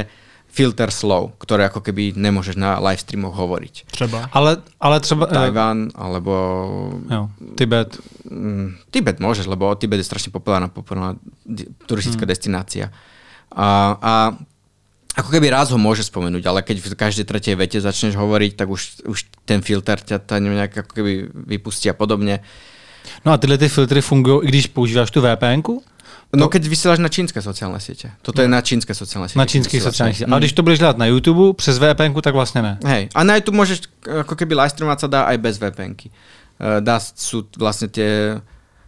filter slov, ktoré ako keby nemôžeš na live streamoch hovoriť. Třeba. Ale třeba... Tajvan, alebo... Jo, Tibet. Tibet môžeš, lebo Tibet je strašne populárna turistická destinácia. A ako keby raz ho môže spomenúť, ale keď v každej tretej vete začneš hovoriť, tak už ten filter ťa nejak ako keby vypustí a podobne. No a tyhle ty filtry fungují, i když používáš tu VPN-ku? No keď vysielaš na čínske sociálne siete. Toto je na čínske sociálne siete. Na čínskych sociálnych sieťach. A když to budeš dělat na YouTube přes VPN-ku, tak vlastně ne. Hej, a na YouTube môžeš, ako keby live streamovať sa dá aj bez VPN-ky. Sú vlastne tie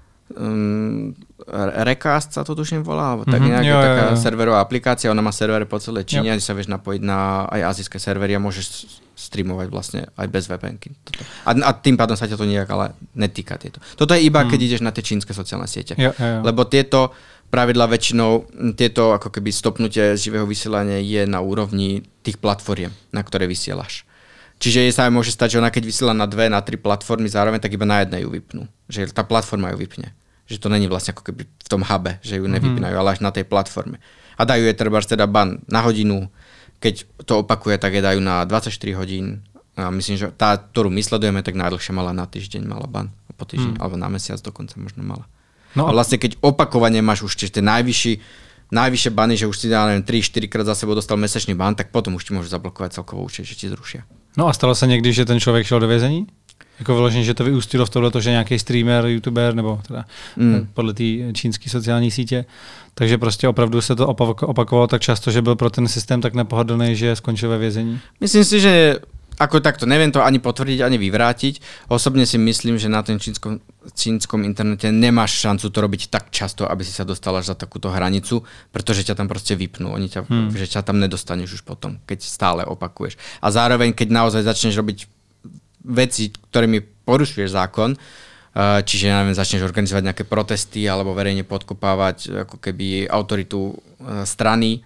Recast sa to tuším volá, alebo tak nejak, taká serverová aplikácia, ona má servery po celej Číne, sa vieš napojiť na aj azijské servery a môžeš streamovať vlastne aj bez VPN-ky. A tým pádom sa ťa to nejak ale netýka tieto. Toto je iba, keď ideš na tie čínske sociálne siete. Jo. Lebo tieto pravidla väčšinou, tieto ako keby stopnutie živého vysielania je na úrovni tých platform, na ktoré vysielaš. Čiže sa aj môže stať, že ona keď vysiela na 2, na 3 platformy zároveň, tak iba na jednej ju vypnú. Že tá platforma ju vypne. Že to není vlastne ako keby v tom hube, že ju nevypínajú, ale až na tej platforme. A dajú je teda ban na hodinu, keď to opakuje, tak je dajú na 24 hodín. A myslím, že tá, ktorú my sledujeme, tak najdlhšie mala na týždeň, mala ban. Po týždeň, alebo na mesiac dokonca možno mala. No. A vlastne keď opakovane máš už tie najvyššie bany, že už si dá 3-4 krát za sebou dostal mesačný ban, tak potom už ti môžu zablokovať celkovou účet, že ti zrušia. No a stalo se někdy, že ten člověk šel do vězení? Jako vyloženě, že to vyústilo v tohleto, že nějaký streamer, youtuber, nebo teda podle té čínské sociální sítě. Takže prostě opravdu se to opakovalo tak často, že byl pro ten systém tak nepohodlný, že skončil ve vězení. Myslím si, že ako takto, neviem to ani potvrdiť, ani vyvrátiť. Osobne si myslím, že na tom čínskom internete nemáš šancu to robiť tak často, aby si sa dostal až za takúto hranicu, pretože ťa tam proste vypnú. Že ťa tam nedostaneš už potom, keď stále opakuješ. A zároveň, keď naozaj začneš robiť veci, ktorými porušuješ zákon, čiže neviem, začneš organizovať nejaké protesty alebo verejne podkopávať ako keby autoritu strany,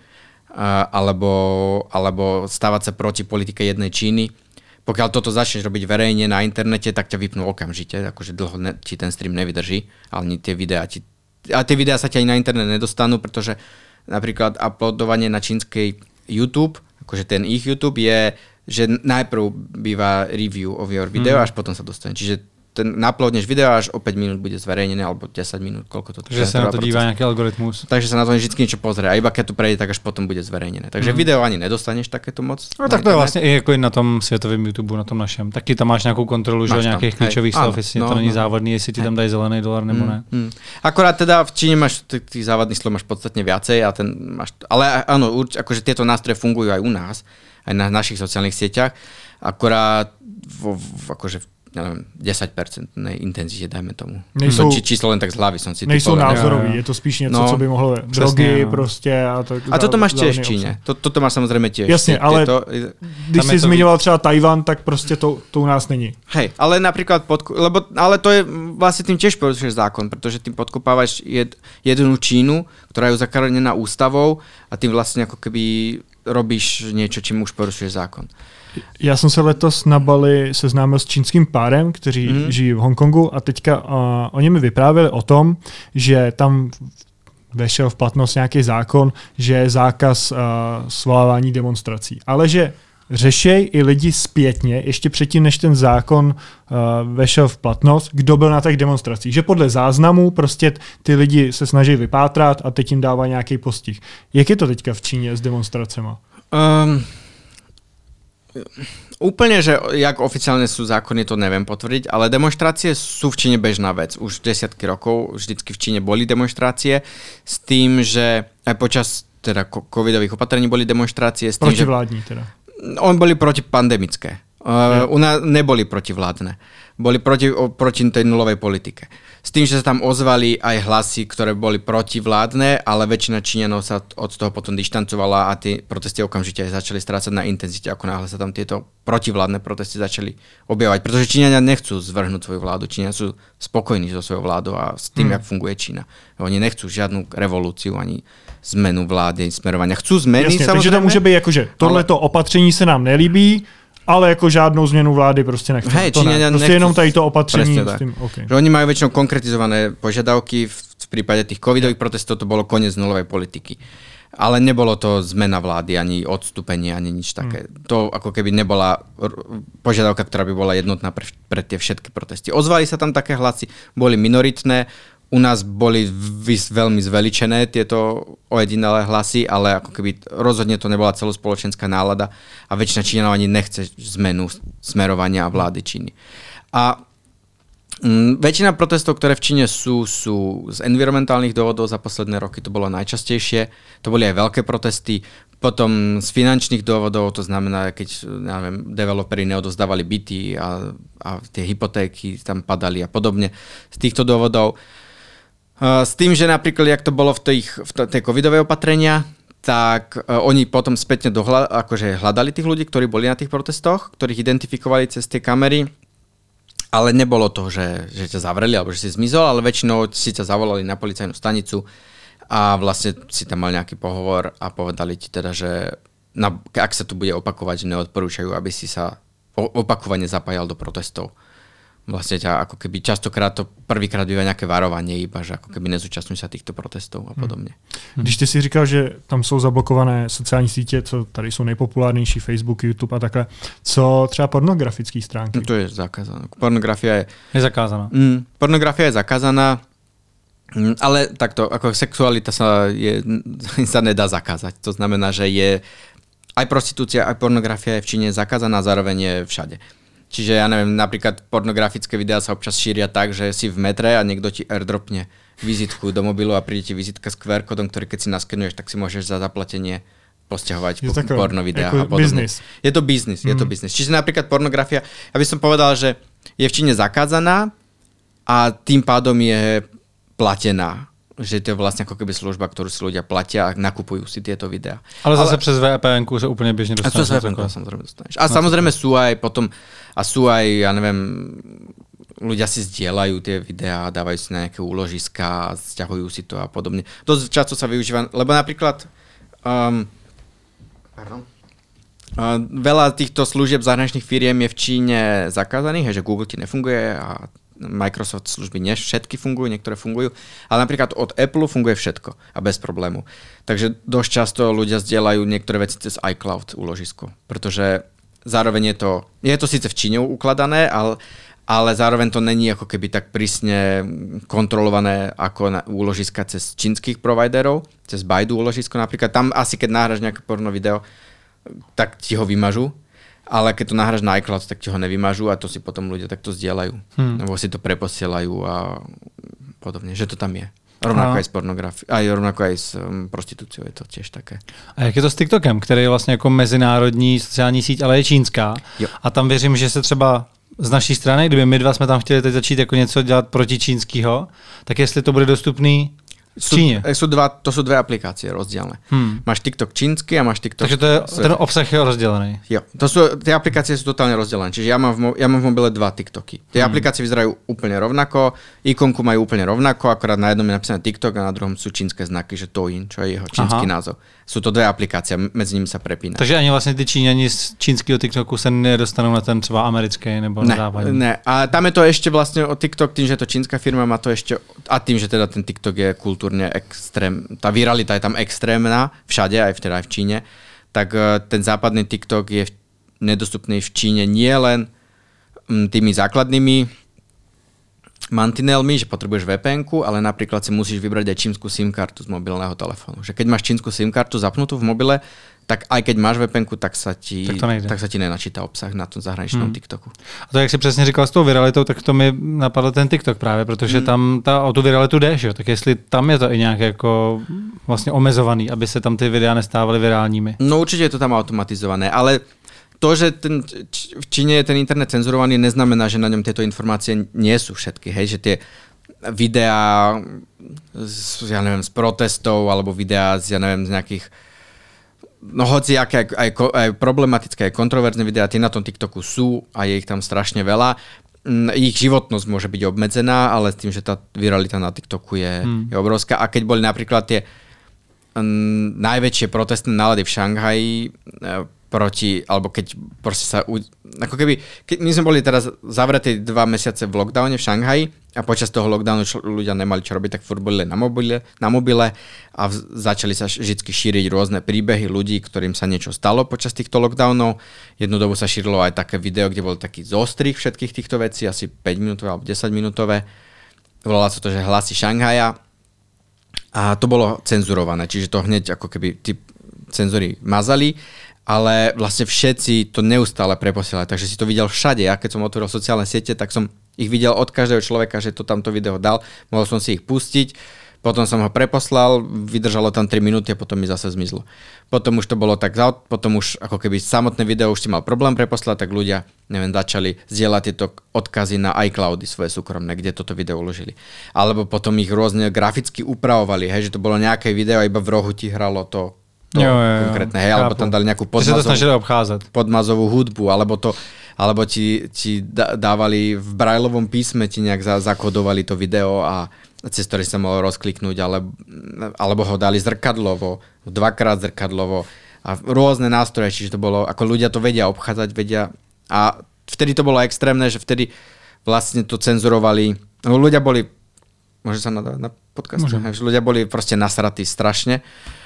alebo stávať sa proti politike jednej Číny. Pokiaľ toto začneš robiť verejne na internete, tak ťa vypnú okamžite, akože dlho ti ten stream nevydrží, ale tie videá tie videá sa ti ani na internet nedostanú, pretože napríklad uploadovanie na čínskej YouTube, akože ten ich YouTube je, že najprv býva review of your video, až potom sa dostane. Čiže ten uploadneš video až o 5 minút bude zverejnené, alebo 10 minút, koľko to Takže sa na to dívá nejaký algoritmus. Takže sa na to vždy niečo pozrie. A iba keď to prejde, tak až potom bude zverejnené. Takže video ani nedostaneš takéto moc. No tak to je vlastne jako i na tom světovém YouTube, na tom našem. Taky tam máš nějakou kontrolu, že nějakých klíčových slov, jestli to není závadný, jestli ti tam dají zelený dolar nebo ne. Akorát teda v Číne máš tých závadných slov máš podstatne viacej a ale áno, akože tieto nástroje fungujú aj u nás, aj na našich sociálnych sieťach. Akorát akože neviem, 10% intenzitě, dajme tomu. Nejsou, číslo len tak z hlavy som si nejsou názorový, je to spíš něco, co by mohlo drogy prostě. A toto máš tiež v Číne. Toto máš samozrejme tiež. Jasně, ale když si zmiňoval třeba Tajvan, tak prostě to u nás není. Hej, ale napríklad, ale to je vlastne tým tiež porušuješ zákon, pretože tým podkopávaš jednu Čínu, ktorá je zakaronená ústavou a tým vlastne ako keby robíš niečo, čím už porušuješ zákon. Já jsem se letos na Bali seznámil s čínským párem, kteří žijí v Hongkongu a teďka oni mi vyprávěli o tom, že tam vešel v platnost nějaký zákon, že je zákaz svolávání demonstrací. Ale že řešej i lidi zpětně, ještě předtím, než ten zákon vešel v platnost, kdo byl na těch demonstracích. Že podle záznamů prostě ty lidi se snaží vypátrat a teď jim dává nějaký postih. Jak je to teďka v Číně s demonstracema? Úplne, že jak oficiálne sú zákony, to neviem potvrdiť, ale demonštrácie sú v Číne bežná vec. Už desiatky rokov vždycky v Číne boli demonštrácie s tým, že aj počas teda covidových opatrení boli demonštrácie. Protivládní teda. Oni boli protipandemické. U nás neboli protivládne. Boli proti tej nulovej politike. S tým, že sa tam ozvali aj hlasy, ktoré boli protivládne, ale väčšina Číňanov sa od toho potom dištancovala a tie protesty okamžite začali strácať na intenzite, ako náhle sa tam tieto protivládne protesty začali objavovať. Pretože Číňania nechcú zvrhnúť svoju vládu. Číňania sú spokojní so svojou vládou a s tým, jak funguje Čína. Oni nechcú žiadnu revolúciu ani zmenu vlády, smerovania. Chcú zmeny, jasne, takže to môže byť ako, že tohleto opatření sa nám nelíbí, ale jako žádnou změnu vlády prostě nechceme. Hej, to ne. Prostě jenom tady to opatření. S tým, okay. Že oni majú väčšinou konkretizované požiadavky, v prípade tých covidových protestov to bolo koniec nulovej politiky. Ale nebolo to zmena vlády, ani odstúpenie, ani nič také. To ako keby nebola požiadavka, ktorá by bola jednotná pre tie všetky protesty. Ozvali sa tam také hlasy, boli minoritné, u nás boli veľmi zveličené tieto ojedinelé hlasy, ale ako keby rozhodne to nebola celospoločenská nálada a väčšina Číňanov ani nechce zmenu smerovania vlády Číny. A väčšina protestov, ktoré v Číne sú z environmentálnych dôvodov za posledné roky, to bolo najčastejšie. To boli aj veľké protesty. Potom z finančných dôvodov, to znamená, keď developeri neodozdávali byty a tie hypotéky tam padali a podobne. Z týchto dôvodov. S tým, že napríklad, jak to bolo v tej covidovej opatrenia, tak oni potom spätne hľadali tých ľudí, ktorí boli na tých protestoch, ktorých identifikovali cez tie kamery. Ale nebolo to, že ťa zavreli alebo že si zmizol, ale väčšinou si ťa zavolali na policajnú stanicu a vlastne si tam mal nejaký pohovor a povedali ti teda, že ak sa tu bude opakovať, že neodporúčajú, aby si sa opakovane zapájal do protestov. Vlastne ťa ako keby častokrát to prvýkrát býva nejaké varovanie, iba že ako keby nezúčastňuj sa týchto protestov a podobně. Když ty si říkal, že tam jsou zablokované sociální sítě, co tady jsou nejpopulárnější, Facebook, YouTube a takhle, co třeba pornografické stránky? No to je zakázané. Pornografia je zakázaná. Pornografia je zakázaná, ale takto, ako sexualita sa nedá zakázať. To znamená, že je aj prostitúcia, aj pornografia je v Číne zakázaná, zároveň je všade. Čiže ja neviem, napríklad pornografické videá sa občas šíria tak, že si v metre a niekto ti airdropne vizitku do mobilu a príde ti vizitka s QR kódom, ktorý keď si naskenuješ, tak si môžeš za zaplatenie posťahovať porno videá a podobne. Je to biznis. Čiže napríklad pornografia, ja by som povedal, že je v Číne zakázaná a tým pádom je platená. Že to je vlastne ako keby služba, ktorú si ľudia platia a nakupujú si tieto videá. Ale zase přes VPN-ku sa úplne bežne dostaneš. A to samozrejme dostaneš. A samozrejme sú aj potom, ja neviem, ľudia si zdieľajú tie videá, dávajú si na nejaké úložiska, sťahujú si to a podobne. Dosť často sa využíva, lebo napríklad veľa týchto služieb zahraničných firiem je v Číne zakázaných, že Google ti nefunguje a Microsoft služby nie všetky fungujú, niektoré fungujú, ale napríklad od Apple funguje všetko a bez problému. Takže dosť často ľudia zdieľajú niektoré veci cez iCloud úložisko, pretože zároveň je to síce v Číne ukladané, ale zároveň to není ako keby tak prísne kontrolované ako úložiska cez čínskych providerov, cez Baidu úložisko napríklad. Tam asi keď nahráš nejaké porno video, tak ti ho vymažú. Ale keď to nahráš na iCloud, tak ti ho nevymažú a to si potom ľudia takto zdieľajú. Nebo si to preposielajú a podobne, že to tam je. Rovnako aj s pornografií, rovnako aj s prostitúciou je to tiež také. A jak je to s TikTokem, který je vlastně jako mezinárodní sociální síť, ale je čínská. Jo. A tam věřím, že se třeba z naší strany, kdyby my dva jsme tam chtěli teď začít jako něco dělat proti čínskýho, tak jestli to bude dostupný v Číne. To sú dve aplikácie rozdielne. Máš TikTok čínsky a máš TikTok... Takže ten obsah je rozdelený. Jo, tie aplikácie sú totálne rozdelené. Čiže ja mám v mobile 2 TikToky. Tie aplikácie vyzerajú úplne rovnako, ikonku majú úplne rovnako, akorát na jednom je napísané TikTok a na druhom sú čínske znaky, že Douyin, čo je jeho čínsky názov. Sú to dve aplikácie, medzi nimi sa prepína. Takže ani vlastne tí Číňani z čínskeho TikToku sa nedostanú na ten třeba americký nebo na západní. Ne. A tam je to ešte vlastne o TikTok, tým, že je to čínska firma, má to ešte a tým, že teda ten TikTok je kultúrne tá viralita je tam extrémna, všade, aj v Číne, tak ten západný TikTok je nedostupný v Číne nie len tými základnými mantinelmi, že potrebuješ VPN-ku, ale napríklad si musíš vybrať aj čínsku SIM kartu z mobilného telefónu. Že keď máš čínsku SIM kartu zapnutú v mobile, tak aj keď máš VPN-ku, tak sa ti nenačíta obsah na tom zahraničnom TikToku. A to, jak si přesně říkal s tou viralitou, tak to mi napadl ten TikTok právě, protože tam o tu viralitu jdeš, jo? Tak jestli tam je to i nějak jako vlastně omezovaný, aby se tam ty videa nestávaly virálními. No určite je to tam automatizované, ale to, že v Číne je ten internet cenzurovaný, neznamená, že na ňom tieto informácie nie sú všetky. Hej, že tie videá z protestov alebo videá z nejakých hoci aké aj problematické, aj kontroverzné videá, tie na tom TikToku sú a je ich tam strašne veľa. Ich životnosť môže byť obmedzená, ale s tým, že tá viralita na TikToku je obrovská. A keď boli napríklad tie najväčšie protestné nálady v Šanghaji alebo keď proste sa, ako keby, my sme boli teraz zavretí 2 mesiace v lockdowne v Šanghaji a počas toho lockdownu ľudia nemali čo robiť, tak furt boli na mobile a začali sa vždy šíriť rôzne príbehy ľudí, ktorým sa niečo stalo počas týchto lockdownov. Jednu dobu sa šírilo aj také video, kde bol taký zostrih všetkých týchto vecí, asi 5-minútové alebo 10-minútové. Volalo sa to, že Hlasy Šanghaja a to bolo cenzurované, čiže to hneď ako keby tí cenzori mazali, ale vlastne všetci to neustále preposielali, takže si to videl všade. Ja keď som otvoril sociálne siete, tak som ich videl od každého človeka, že to tamto video dal, mohol som si ich pustiť, potom som ho preposlal, vydržalo tam 3 minúty a potom mi zase zmizlo. Potom už to bolo tak, potom už ako keby samotné video už si mal problém preposlať, tak ľudia, začali zdieľať tieto odkazy na iCloudy svoje súkromné, kde toto video uložili. Alebo potom ich rôzne graficky upravovali, že to bolo nejaké video a iba v rohu ti hralo to konkrétne, alebo tam dali nejakú podmazovú hudbu, alebo ti dávali v brajlovom písme, ti nejak zakodovali to video a cez ktoré sa mohlo rozkliknúť, alebo ho dali zrkadlovo, dvakrát zrkadlovo a rôzne nástroje, čiže to bolo, ako ľudia to vedia obchádzať, a vtedy to bolo extrémne, že vtedy vlastne to cenzurovali, ľudia boli, môže sa nadávať na podcast? Ľudia boli proste nasratí strašne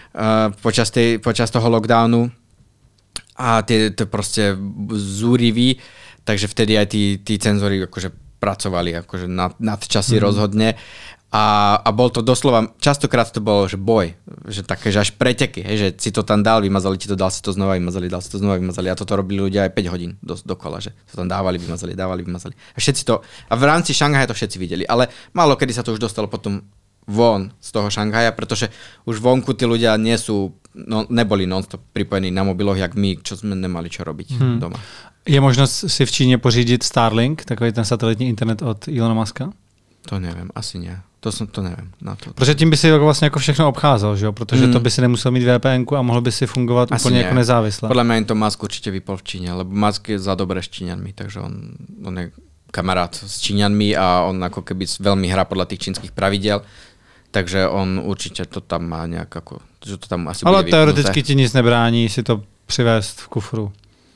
počas toho lockdownu a tie proste zúriví, takže vtedy aj tí cenzori akože pracovali akože nad časy rozhodne a bol to doslova, častokrát to bolo, že boj, že také, že až preteky, že si to tam dal, vymazali ti to, dal si to znova, vymazali, dal si to znova, vymazali a toto robili ľudia aj 5 hodín dokola, že to tam dávali, vymazali. A všetci to, a v rámci Šanghaja to všetci videli, ale málo kedy sa to už dostalo potom von z toho Šanghaja, pretože už vonku tí ľudia neboli non-stop pripojení na mobiloch, jak my, čo sme nemali čo robiť doma. Je možnosť si v Číne pořídit Starlink, takový ten satelitní internet od Elona Muska? To neviem, asi nie. To neviem. Na to. Protože tím by si vlastně jako všechno obcházel, že jo? Protože to by si nemusel mít VPN-ku a mohl by si fungovat asi úplně jako nezávisle. Podľa mňa im to Musk určite vypol v Číne, lebo Musk je za dobré s Číňanmi, takže on je kamarát s Číňanmi a on ako keby veľmi hrá podľa tých čínskych pravidel. Takže on určitě to tam má nějak jako, že to tam asi ale bude teoreticky ti nic nebrání si to přivést v kufru.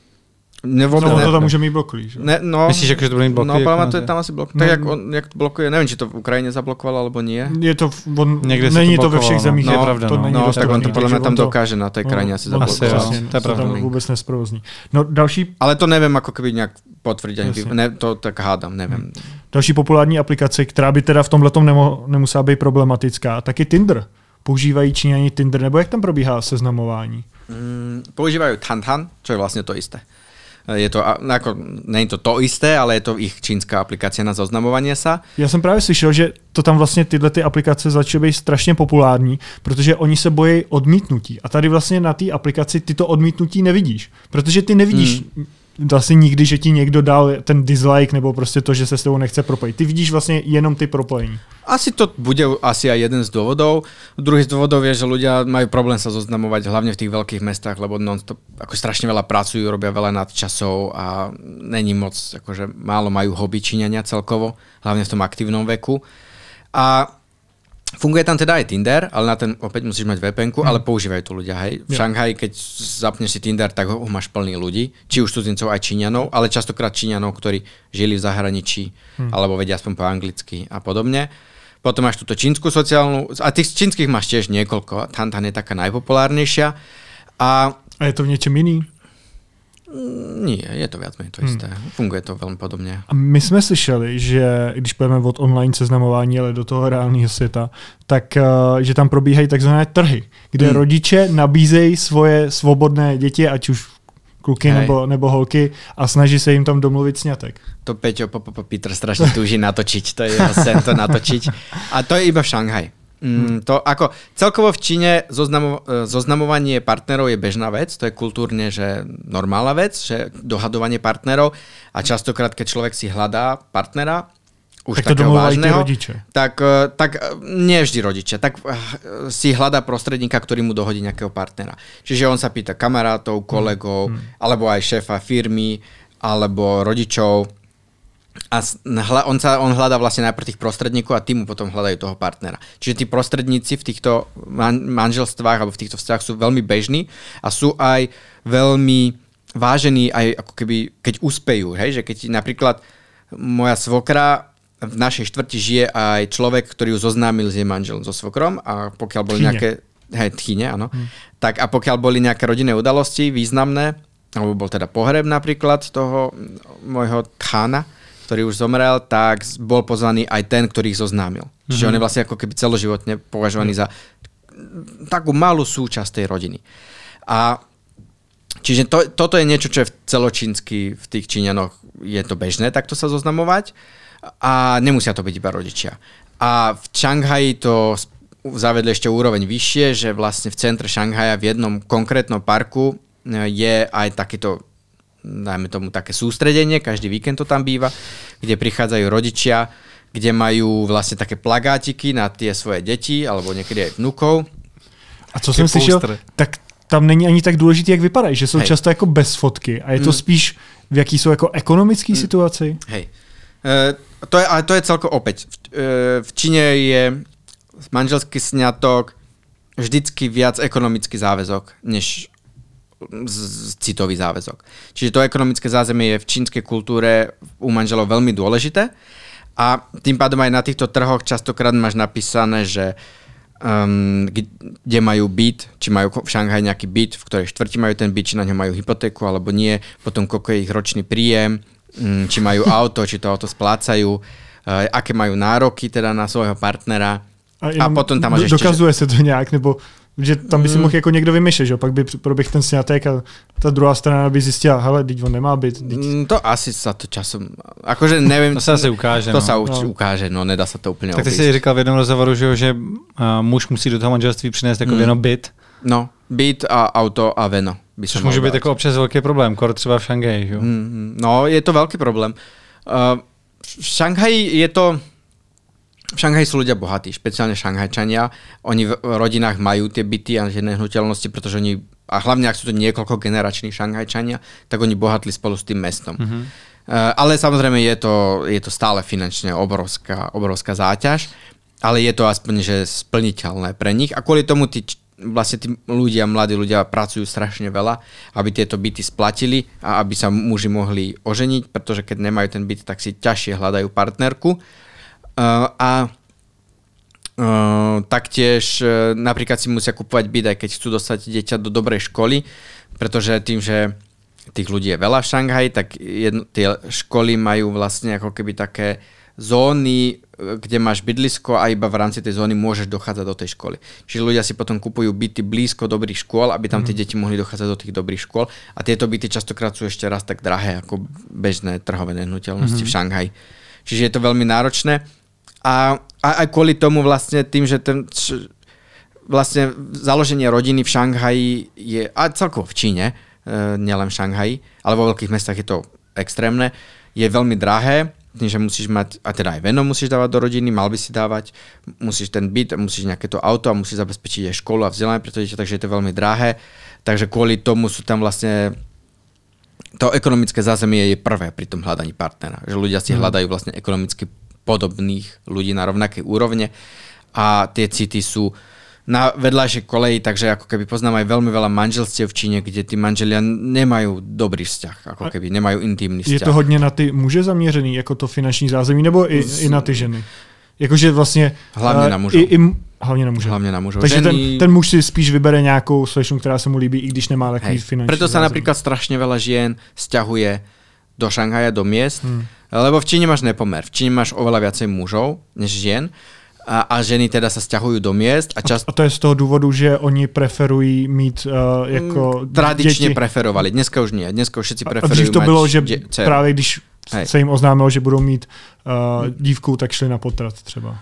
To tam může mít bloklí, že? Myslíš, že to bude mít bloklí? No, ale to je tam asi bloklí. Tak jak to blokuje, nevím, či to v Ukrajině zablokovalo, alebo nie. Je to, není to ve všech zemích, je pravda. Tak on to podle mě tam dokáže na té krajině asi zablokovat. To je pravda. Vůbec nesprovozní. No další... Ale to nevím, jako keby nějak potvrdit, to tak hádám, nevím. Další populární aplikace, která by teda v tomhletom nemusela být problematická, tak je Tinder. Používají Číňani Tinder, nebo jak tam probíhá seznamování? Používajú Tantan, čo je vlastne to isté. Je to, ako, není to isté, ale je to ich čínská aplikácia na zoznamovanie sa. Já jsem právě slyšel, že to tam vlastně tyhle ty aplikace začaly být strašně populární, protože oni se bojí odmítnutí. A tady vlastně na té aplikaci ty to odmítnutí nevidíš. Protože ty nevidíš vlastně nikdy, že ti někdo dal ten dislike nebo prostě to, že se s tebou nechce propojit. Ty vidíš vlastně jenom ty propojení. Asi to bude asi aj jeden z dôvodov. Druhý z dôvodov je, že ľudia majú problém sa zoznamovať hlavne v tých veľkých mestách, lebo non-stop ako strašne veľa pracujú, robia veľa nadčasov a není moc, akože málo majú hobby Číňania celkovo, hlavne v tom aktívnom veku. A funguje tam teda aj Tinder, ale na ten opäť musíš mať VPN-ku, ale používajú to ľudia. Hej. V Šanghaji, keď zapneš si Tinder, tak ho máš plný ľudí, či už cudzincov aj Číňanov, ale častokrát Číňanov, ktorí žili v zahraničí, alebo vedia aspoň po anglicky a podobne. Potom máš túto čínsku sociálnu, a tých čínskych máš tiež niekoľko, Tantan je taká najpopulárnejšia. A je to v niečom iný? Nie, je to viac menej to isté. Funguje to velmi podobně. A my jsme slyšeli, že když půjdeme od online seznamování, ale do toho reálného světa, tak že tam probíhají takzvané trhy, kde rodiče nabízejí svoje svobodné děti, ať už kluky nebo holky, a snaží se jim tam domluvit sňatek. To Peťo Peter strašně túži natočiť, to je jeho sen to natočiť. A to je iba v Šanghaji. To ako celkovo v Číne zoznamovanie partnerov je bežná vec, to je kultúrne, že normálna vec, že dohadovanie partnerov a častokrát, keď človek si hľadá partnera, už tak takého vážneho, tak nie vždy rodičia, tak si hľadá prostredníka, ktorý mu dohodí nejakého partnera. Čiže on sa pýta kamarátov, kolegov, alebo aj šéfa firmy, alebo rodičov. A on hľadá vlastne najprv tých prostredníkov a tí mu potom hľadajú toho partnera. Čiže tí prostredníci v týchto manželstvách alebo v týchto vzťahoch sú veľmi bežní a sú aj veľmi vážení aj ako keby, keď uspejú. Hej? Že keď napríklad moja svokra v našej štvrti žije aj človek, ktorý ju zoznámil s jej manželom, so svokrom a pokiaľ boli nejaké... Tchýne, áno. Tak a pokiaľ boli nejaké rodinné udalosti významné, alebo bol teda pohreb napríklad toho môjho tchána, ktorý už zomrel, tak bol pozvaný aj ten, ktorý ich zoznámil. Čiže on je vlastne ako keby celoživotne považovaný za takú malú súčasť tej rodiny. A čiže toto je niečo, čo je celočínsky v tých Číňanoch je to bežné takto sa zoznamovať a nemusia to byť iba rodičia. A v Šanghaji to zavedli ešte úroveň vyššie, že vlastne v centre Šanghaja v jednom konkrétnom parku je aj takéto, dajme tomu také sústredenie, každý víkend to tam býva, kde prichádzajú rodičia, kde majú vlastne také plagátiky na tie svoje deti, alebo niekedy aj vnukov. A co jsem slyšel, tak tam není ani tak důležitý, jak vypadají, že jsou často jako bez fotky a je to spíš v jaký jsou jako ekonomický situaci. Hej. Ale to je celko opäť. V Číne je manželský sňatok vždycky viac ekonomický záväzok, než citový záväzok. Čiže to ekonomické zázemie je v čínskej kultúre u manželov veľmi dôležité a tým pádom aj na týchto trhoch častokrát máš napísané, že kde majú byt, či majú v Šanghaji nejaký byt, v ktorej štvrti majú ten byt, či na ňom majú hypotéku alebo nie, potom koľko je ich ročný príjem, či majú auto, či to auto splácajú, aké majú nároky teda na svojho partnera. A potom tam máš dokazuje se to nějak, nebo že tam by si mohl jako někdo vymýšlet, že pak by proběh ten sňatek a ta druhá strana by zjistila, hele, teď on nemá byt. To asi sa to časom, akože neviem. To sa asi ukáže. To sa ukáže, no nedá sa to úplne tak ty si říkal v jednom rozhovoru, že muž musí do toho manželství přinést jako jenom byt. No, byt a auto a veno. Což může být jako občas velký problém, kor třeba v Šanghaji, že? No, je to veľký problém. V Šanghaji je to... V Šanghaji sú ľudia bohatí, špeciálne Šanghajčania. Oni v rodinách majú tie byty a nehnuteľnosti, pretože oni, a hlavne ak sú to niekoľko generační Šanghajčania, tak oni bohatli spolu s tým mestom. Ale samozrejme je to stále finančne obrovská záťaž, ale je to aspoň že splniteľné pre nich. A kvôli tomu tí mladí ľudia pracujú strašne veľa, aby tieto byty splatili a aby sa muži mohli oženiť, pretože keď nemajú ten byt, tak si ťažšie hľadajú partnerku. Taktiež napríklad si musia kupovať byt, aj keď chcú dostať dieťa do dobrej školy, pretože tým, že tých ľudí je veľa v Šanghaji, tak tie školy majú vlastne ako keby také zóny, kde máš bydlisko a iba v rámci tej zóny môžeš dochádzať do tej školy. Čiže ľudia si potom kupujú byty blízko dobrých škôl, aby tam tie deti mohli dochádzať do tých dobrých škôl a tieto byty častokrát sú ešte raz tak drahé ako bežné trhové nehnuteľnosti v Šanghaji. Čiže je to veľmi náročné. A aj kvôli tomu vlastne tým, že vlastne založenie rodiny v Šanghaji je, a celkovo v Číne, nielen v Šanghaji, ale vo veľkých mestách je to extrémne, je veľmi drahé, tým, že musíš mať, a teda aj veno musíš dávať do rodiny, mal by si dávať, musíš ten byt, musíš nejaké to auto a musíš zabezpečiť aj školu a vzdelanie pre to dieťa, takže je to veľmi drahé. Takže kvôli tomu sú tam vlastne to ekonomické zázemie je prvé pri tom hľadaní partnera. Že ľudia si hľadajú vlastne ekonomicky podobných ľudí na rovnakej úrovne a tie city sú na vedľajšej koleji, takže ako keby poznám aj veľmi veľa manželstiev v Číne, kde tí manželia nemajú dobrý vzťah, ako keby nemajú intimný vzťah. Je to hodně na ty muže zaměřený, jako to finanční zázemí, nebo i na ty ženy? Jakože vlastně... Hlavně na mužov. Hlavně na mužov. Takže ten muž si spíš vybere nějakou slečnu, která se mu líbí, i když nemá takový finanční Preto sa zázemí. napríklad strašne veľa žien sťahuje do Šanghaja, do miest, lebo v Číne máš nepomer. V Číne máš oveľa viacej mužov než žien a ženy teda sa sťahujú do miest. A to je z toho důvodu, že oni preferují mít jako tradične děti. preferovali. Dneska už nie. Dneska už všetci preferujú a dřív to mať bylo, že dceru. právě když se jim oznámilo, že budou mít dívku, tak šli na potrat třeba.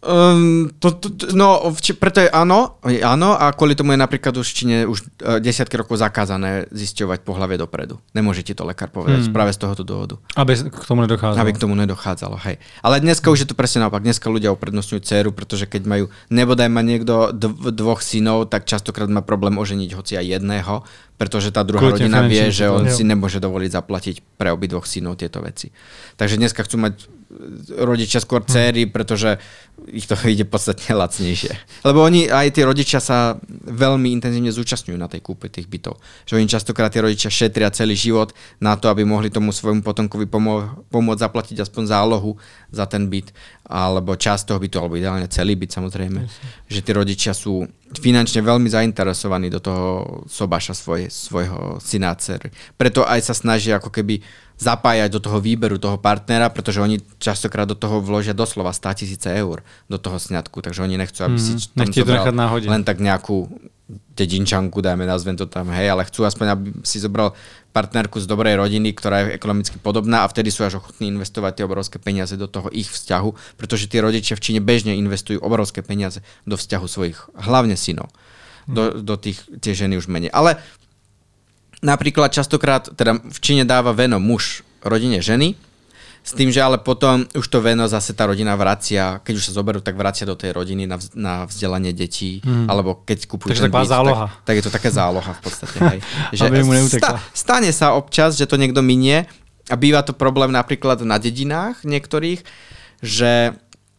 Preto je áno a kvôli tomu je napríklad už v Číne už desiatky rokov zakázané zisťovať pohlavie dopredu. Nemôže ti to lekár povedať práve z tohoto dôvodu. Aby k tomu nedochádzalo. Hej. Ale dneska už je to presne naopak. Dneska ľudia uprednostňujú dceru, pretože keď majú, nebodaj má niekto dvoch synov, tak častokrát má problém oženiť hoci aj jedného, pretože tá druhá rodina vie, že on si nemôže dovoliť zaplatiť pre obidvoch synov tieto veci. Takže dneska chcú mať rodičia skôr dcery, pretože ich to ide podstatne lacnejšie. Lebo oni, aj tí rodičia sa veľmi intenzívne zúčastňujú na tej kúpe tých bytov. Že oni častokrát tí rodičia šetria celý život na to, aby mohli tomu svojmu potomkovi pomôcť zaplatiť aspoň zálohu za ten byt, alebo časť toho bytu, alebo ideálne celý byt samozrejme. Že tí rodičia sú finančne veľmi zainteresovaní do toho sobáša svojho syna a dcery. Preto aj sa snažia ako keby zapájať do toho výberu toho partnera, pretože oni častokrát do toho vložia doslova 100 000 eur do toho sňatku, takže oni nechcú, aby si tam zobral len tak nejakú dedinčanku, nazvem to tam, hej, ale chcú aspoň, aby si zobral partnerku z dobrej rodiny, ktorá je ekonomicky podobná a vtedy sú až ochotní investovať tie obrovské peniaze do toho ich vzťahu, pretože tí rodičia v Číne bežne investujú obrovské peniaze do vzťahu svojich, hlavne synov. Do tie ženy už menej. Ale napríklad častokrát, teda v Číne dáva veno muž rodine ženy, s tým, že ale potom už to veno zase tá rodina vracia, keď už sa zoberú, tak vracia do tej rodiny na vzdelanie detí, alebo keď kúpujú ten byt, tak je to taká záloha v podstate. Hej. Že stane sa občas, že to niekto minie a býva to problém napríklad na dedinách niektorých, že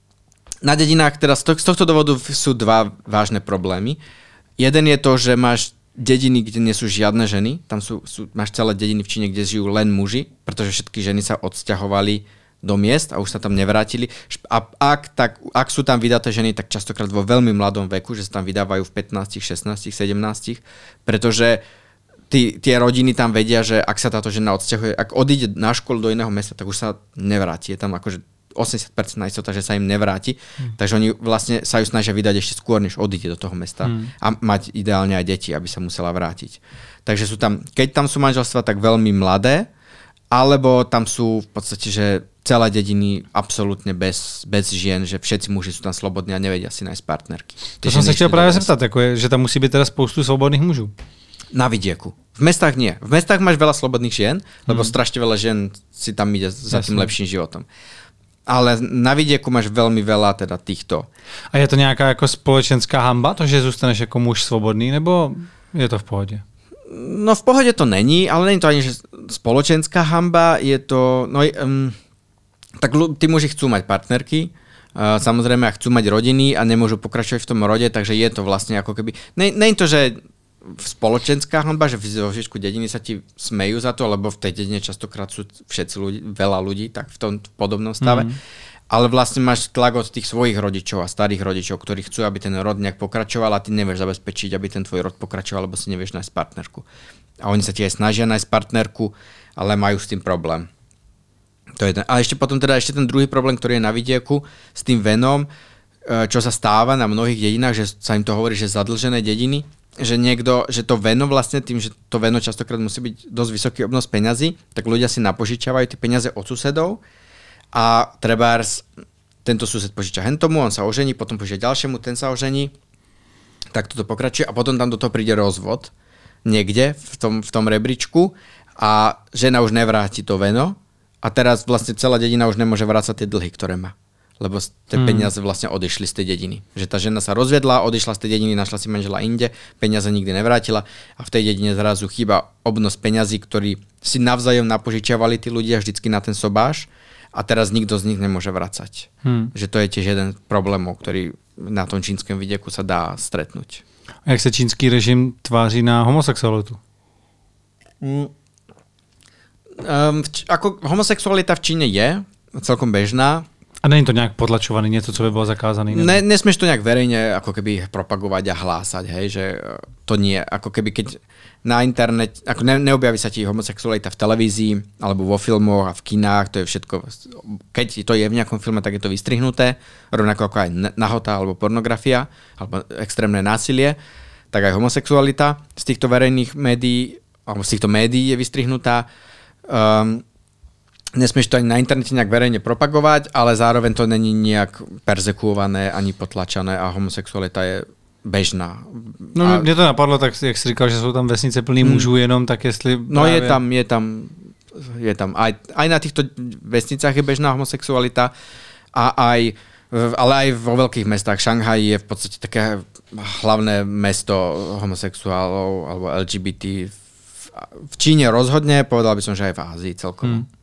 na dedinách teda z tohto dôvodu sú dva vážne problémy. Jeden je to, že máš dediny, kde nie sú žiadne ženy. Tam máš celé dediny v Číne, kde žijú len muži, pretože všetky ženy sa odsťahovali do miest a už sa tam nevrátili. A ak sú tam vydaté ženy, tak častokrát vo veľmi mladom veku, že sa tam vydávajú v 15, 16, 17, pretože tie rodiny tam vedia, že ak sa táto žena odsťahuje, ak odíde na školu do iného mesta, tak už sa nevráti. Je tam akože 80% istota, že sa im nevráti. Takže oni vlastne sa ju snažia vydať ešte skôr, než odíde do toho mesta. A mať ideálne aj deti, aby sa musela vrátiť. Takže sú tam, keď tam sú manželstva, tak veľmi mladé, alebo tam sú v podstate, že celé dediny absolútne bez žien, že všetci muži sú tam slobodní a nevedia si nájsť partnerky. To som sa chtěl právě zeptat, že tam musí být teda spoustu svobodných mužů. Na vidieku. V mestách nie. V mestách máš veľa slobodných žien, lebo strašne veľa žien si tam ide za tým lepším životom. Ale na vidieku máš veľmi veľa teda týchto. A je to nějaká jako společenská hamba, to, že zůstaneš jako muž svobodný, nebo je to v pohodě? No v pohode to není, ale není to ani že spoločenská hamba, je to... tak tí muži chcú mať partnerky, samozrejme chcú mať rodiny a nemôžu pokračovať v tom rode, takže je to vlastne ako keby... Není to, že spoločenská hanba, že vo zvyšku dediny sa ti smejú za to, lebo v tej dedine častokrát sú všetci ľudí, veľa ľudí tak v tom podobnom stave. Ale vlastne máš tlak od tých svojich rodičov a starých rodičov, ktorí chcú, aby ten rod nejak pokračoval a ty nevieš zabezpečiť, aby ten tvoj rod pokračoval, lebo si nevieš nájsť partnerku. A oni sa ti aj snažia nájsť partnerku, ale majú s tým problém. To je ten. A ešte potom teda ešte ten druhý problém, ktorý je na vidieku s tým venom, čo sa stáva na mnohých dedinách, že sa im to hovorí, že zadlžené dediny, že niekto, že to veno vlastne tým, že to veno častokrát musí byť dosť vysoký obnos peňazí, tak ľudia si napožičiavajú tie peniaze od susedov a trebárs tento sused požiča hentomu, on sa ožení, potom požiča ďalšiemu, ten sa ožení, tak toto pokračuje a potom tam do toho príde rozvod niekde v tom rebríčku a žena už nevráti to veno a teraz vlastne celá dedina už nemôže vrácať tie dlhy, ktoré má. Lebo tie peniaze vlastne odišli z tej dediny. Že tá žena sa rozviedla, odišla z tej dediny, našla si manžela inde, peniaze nikdy nevrátila a v tej dedine zrazu chýba obnos peňazí, ktorý si navzájom napožičiavali tí ľudia vždycky na ten sobáš a teraz nikto z nich nemôže vracať. Že to je tiež jeden problémov, ktorý na tom čínskom vidieku sa dá stretnúť. A jak sa čínsky režim tváří na homosexualitu? Ako homosexualita v Číne je celkom bežná. A není to nejak potlačovaný, niečo, co by bolo zakázané? Nesmieš to nejak verejne ako keby propagovať a hlásať, hej, že to nie, ako keby keď na internet, ako neobjaví sa ti homosexualita v televízii, alebo vo filmoch a v kinách, to je všetko, keď to je v nejakom filme, tak je to vystrihnuté, rovnako ako aj nahota, alebo pornografia, alebo extrémne násilie, tak aj homosexualita z týchto verejných médií, alebo z týchto médií je vystrihnutá. Nesmieš to ani na internete nejak verejne propagovať, ale zároveň to není nejak perzekuované ani potlačané a homosexualita je bežná. No mě to napadlo, tak jak jsi říkal, že jsou tam vesnice plný mužů jenom, tak jestli... No právě... je tam. Aj na týchto vesnicách je bežná homosexualita ale aj vo veľkých mestách. Šanghaj je v podstate také hlavné mesto homosexuálov alebo LGBT. V Číne rozhodne, povedal by som, že aj v Ázii celkovo.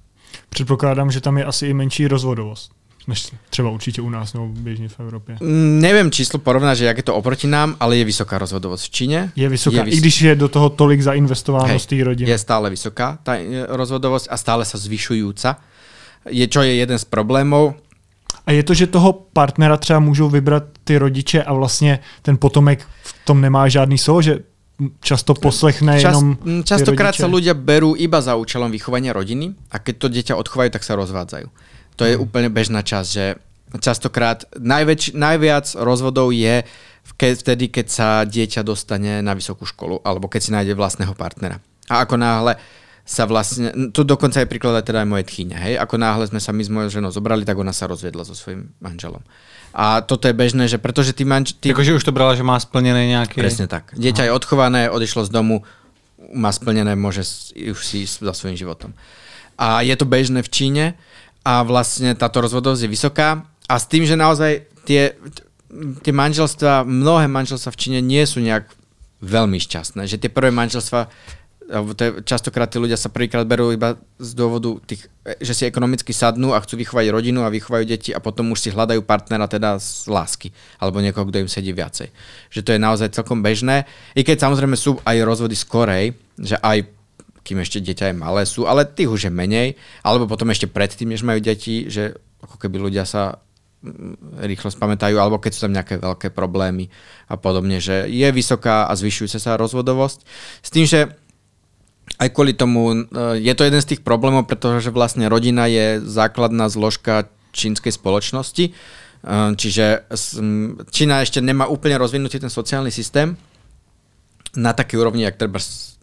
Předpokládám, že tam je asi i menší rozvodovost, než třeba určitě u nás nebo běžně v Evropě. Neviem číslo porovnať, že jak je to oproti nám, ale je vysoká rozvodovosť v Číne. Je vysoká, i když je do toho tolik zainvestováno z té rodiny. Je stále vysoká tá rozvodovosť a stále sa zvyšujúca. Čo je jeden z problémov. A je to, že toho partnera třeba můžou vybrat ty rodiče a vlastně ten potomek v tom nemá žádný slovo, že často poslechne jenom Častokrát sa ľudia berú iba za účelom vychovania rodiny a keď to dieťa odchovajú, tak sa rozvádzajú. To je úplne bežná časť, že častokrát najviac rozvodov je vtedy, keď sa dieťa dostane na vysokú školu alebo keď si nájde vlastného partnera. A ako náhle sa vlastne, tu dokonca je príklad teda aj moje tchýne, hej, ako náhle sme sa my s mojou ženou zobrali, tak ona sa rozviedla so svojím manželom. A toto je bežné, že pretože ty Jakože už to brala, že má splnené nejaké... Presne tak. Dieťa je odchované, odišlo z domu, má splnené, môže už si ísť za svojím životom. A je to bežné v Číne a vlastne táto rozvodovosť je vysoká a s tým, že naozaj tie manželstvá, mnohé manželstvá v Číne nie sú nejak veľmi šťastné, že tie prvé manželstvá častokrát tí ľudia sa prvýkrát berú iba z dôvodu že si ekonomicky sadnú a chcú vychovať rodinu a vychovajú deti a potom už si hľadajú partnera teda z lásky alebo niekoho, kto im sedí viacej. Že to je naozaj celkom bežné. I keď samozrejme sú aj rozvody skorej, že aj kým ešte dieťa je malé sú, ale tých už je menej, alebo potom ešte predtým, než majú deti, že ako keby ľudia sa rýchlo spamätajú, alebo keď sú tam nejaké veľké problémy a podobne, že je vysoká a zvyšujúca sa rozvodovosť. S tým, že aj kvôli tomu je to jeden z tých problémov, pretože vlastne rodina je základná zložka čínskej spoločnosti. Čiže Čína ešte nemá úplne rozvinutý ten sociálny systém na takej úrovni, jak treba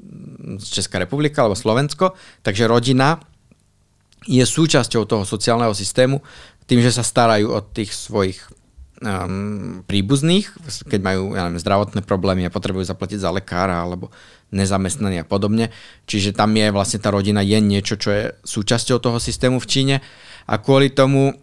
Česká republika alebo Slovensko. Takže rodina je súčasťou toho sociálneho systému tým, že sa starajú o tých svojich príbuzných, keď majú zdravotné problémy a potrebujú zaplatiť za lekára alebo nezamestnaní a podobne. Čiže tam je vlastne tá rodina je niečo, čo je súčasťou toho systému v Číne a kvôli tomu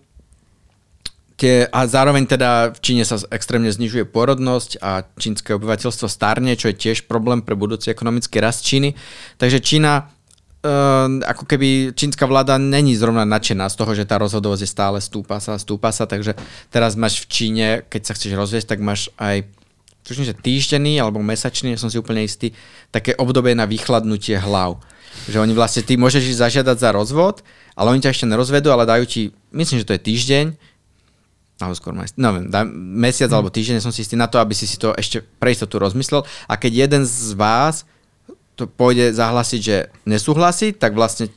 a zároveň teda v Číne sa extrémne znižuje pôrodnosť a čínske obyvateľstvo starne, čo je tiež problém pre budúci ekonomický rast Číny. Takže Čína ako keby čínska vláda není zrovna nadšená z toho, že tá rozhodovosť je stále stúpa sa, takže teraz máš v Číne, keď sa chceš rozviesť, tak máš aj tuším, že týždenný alebo mesačný, som si úplne istý, také obdobie na vychladnutie hlav. Že oni vlastne, ty môžeš ísť zažiadať za rozvod, ale oni ťa ešte nerozvedú, ale dajú ti, myslím, že to je týždeň, alebo skôr mesiac alebo týždeň, som si istý na to, aby si to ešte pre istotu rozmyslel a keď jeden z vás to pôjde zahlasiť, že nesúhlasí, tak vlastne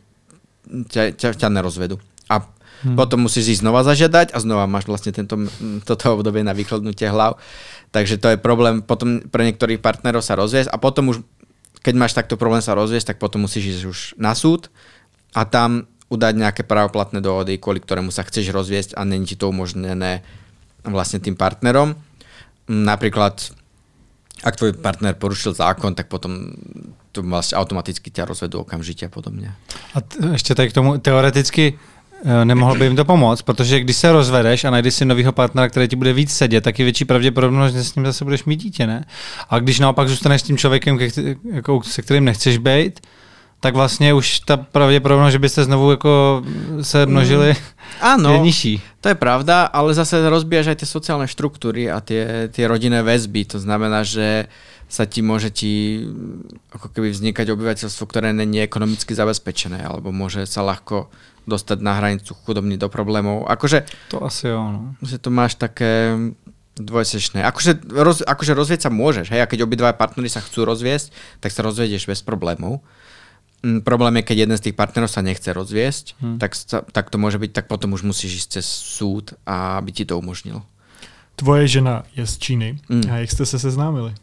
ťa nerozvedú. A potom musíš ísť znova zažiadať a znova máš vlastne toto obdobie na vychladnutie hlav. Takže to je problém potom pre niektorých partnerov sa rozviesť a potom už, keď máš takto problém sa rozviesť, tak potom musíš ísť už na súd a tam udať nejaké právoplatné dohody, kvôli ktorému sa chceš rozviesť a není ti to umožnené vlastne tým partnerom. Napríklad, ak tvoj partner porušil zákon, tak potom to vlastne automaticky ťa rozvedú okamžitě a podobně. A ještě tady k tomu teoreticky nemohlo by jim to pomoct, protože když se rozvedeš a najdeš si novýho partnera, který ti bude víc sedět, tak je větší pravděpodobnost, že s ním zase budeš mít dítě, ne? A když naopak zůstaneš s tím člověkem, se kterým nechceš být, tak vlastně už ta pravděpodobnost, že byste znovu jako se množili, je nižší. To je pravda, ale zase rozbíjaš aj tie sociálne štruktúry a tie rodinné väzby. To znamená, že sa ti môže ako keby vznikať obyvateľstvo, ktoré není ekonomicky zabezpečené, alebo môže sa ľahko dostať na hranicu chudobní do problémov. Akože, to asi jo, no. Že to máš také dvojsečné. Akože rozvieť sa môžeš, hej, a keď obidva partnery sa chcú rozviesť, tak sa rozvedieš bez problémov. Problém je, keď jeden z tých partnerov sa nechce rozviesť, tak to môže byť, tak potom už musíš ísť cez súd, aby ti to umožnil. Tvoje žena je z Číny. A jak ste sa seznámili?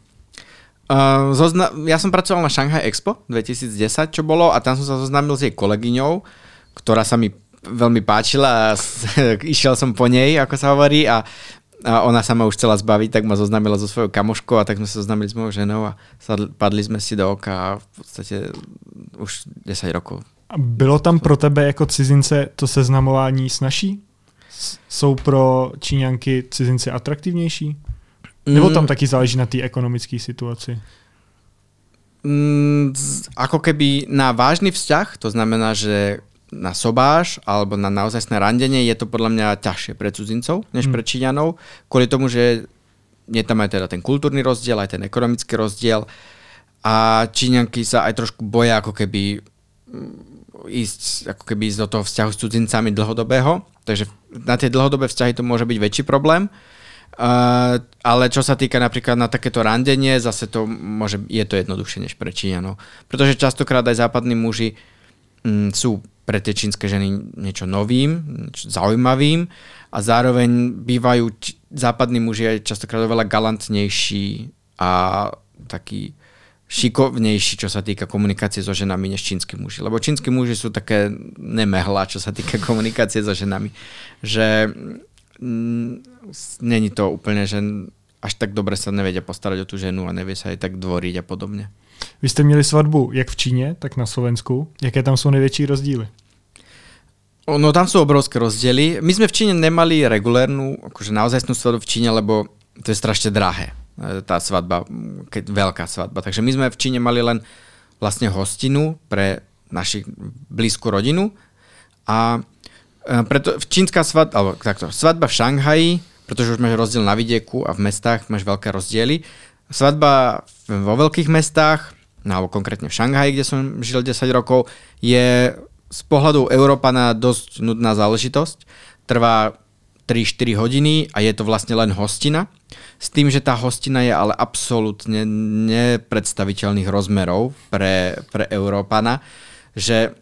Ja som pracoval na Shanghai Expo 2010, čo bolo, a tam som sa zoznámil s jej kolegyňou, ktorá sa mi veľmi páčila a išiel som po nej, ako sa hovorí, a ona sa ma už chcela zbaviť, tak ma zoznámila so svojou kamoškou a tak sme sa zoznámili s mojou ženou a padli sme si do oka a v podstate už 10 rokov. A bylo tam pro tebe jako cizince to seznamování snažší? Jsou pro Číňanky cizinci atraktivnější? Nebo tam taky záleží na té ekonomické situaci? Ako keby na vážny vzťah, to znamená, že na sobáš alebo na naozajstné randenie je to podľa mňa ťažšie pre cudzincov než pre Číňanov, kvôli tomu, že je tam aj teda ten kultúrny rozdiel, aj ten ekonomický rozdiel a Číňanky sa aj trošku boja ako keby ísť do toho vzťahu s cudzincami dlhodobého, takže na tie dlhodobé vzťahy to môže byť väčší problém, ale čo sa týka napríklad na takéto randenie, zase je to jednoduchšie než pre Číňanov, pretože častokrát aj západní muži sú pre tie čínske ženy niečo novým, niečo zaujímavým a zároveň bývajú západní muži aj častokrát oveľa galantnejší a taký šikovnejší, čo sa týka komunikácie so ženami, než čínsky muži. Lebo čínsky muži sú také nemehla, čo sa týka komunikácie so ženami. Že není to úplne, že až tak dobre sa nevedia postarať o tú ženu a nevie sa aj tak dvoriť a podobne. Vy jste měli svatbu jak v Číně, tak na Slovensku. Jaké tam jsou největší rozdíly? No tam sú obrovské rozdiely. My sme v Číne nemali regulérnu, akože naozajstnú svadbu v Číne, lebo to je strašne drahé. Tá svadba, veľká svadba. Takže my sme v Číne mali len vlastne hostinu pre našu blízku rodinu a preto čínska svadba, alebo takto, svadba v Šanghaji, pretože už máš rozdiel na vidieku a v mestách máš veľké rozdiely. Svadba vo veľkých mestách, alebo konkrétne v Šanghaji, kde som žil 10 rokov, je z pohľadu Európana dosť nudná záležitosť. Trvá 3-4 hodiny a je to vlastne len hostina. S tým, že tá hostina je ale absolútne nepredstaviteľných rozmerov pre Európana, že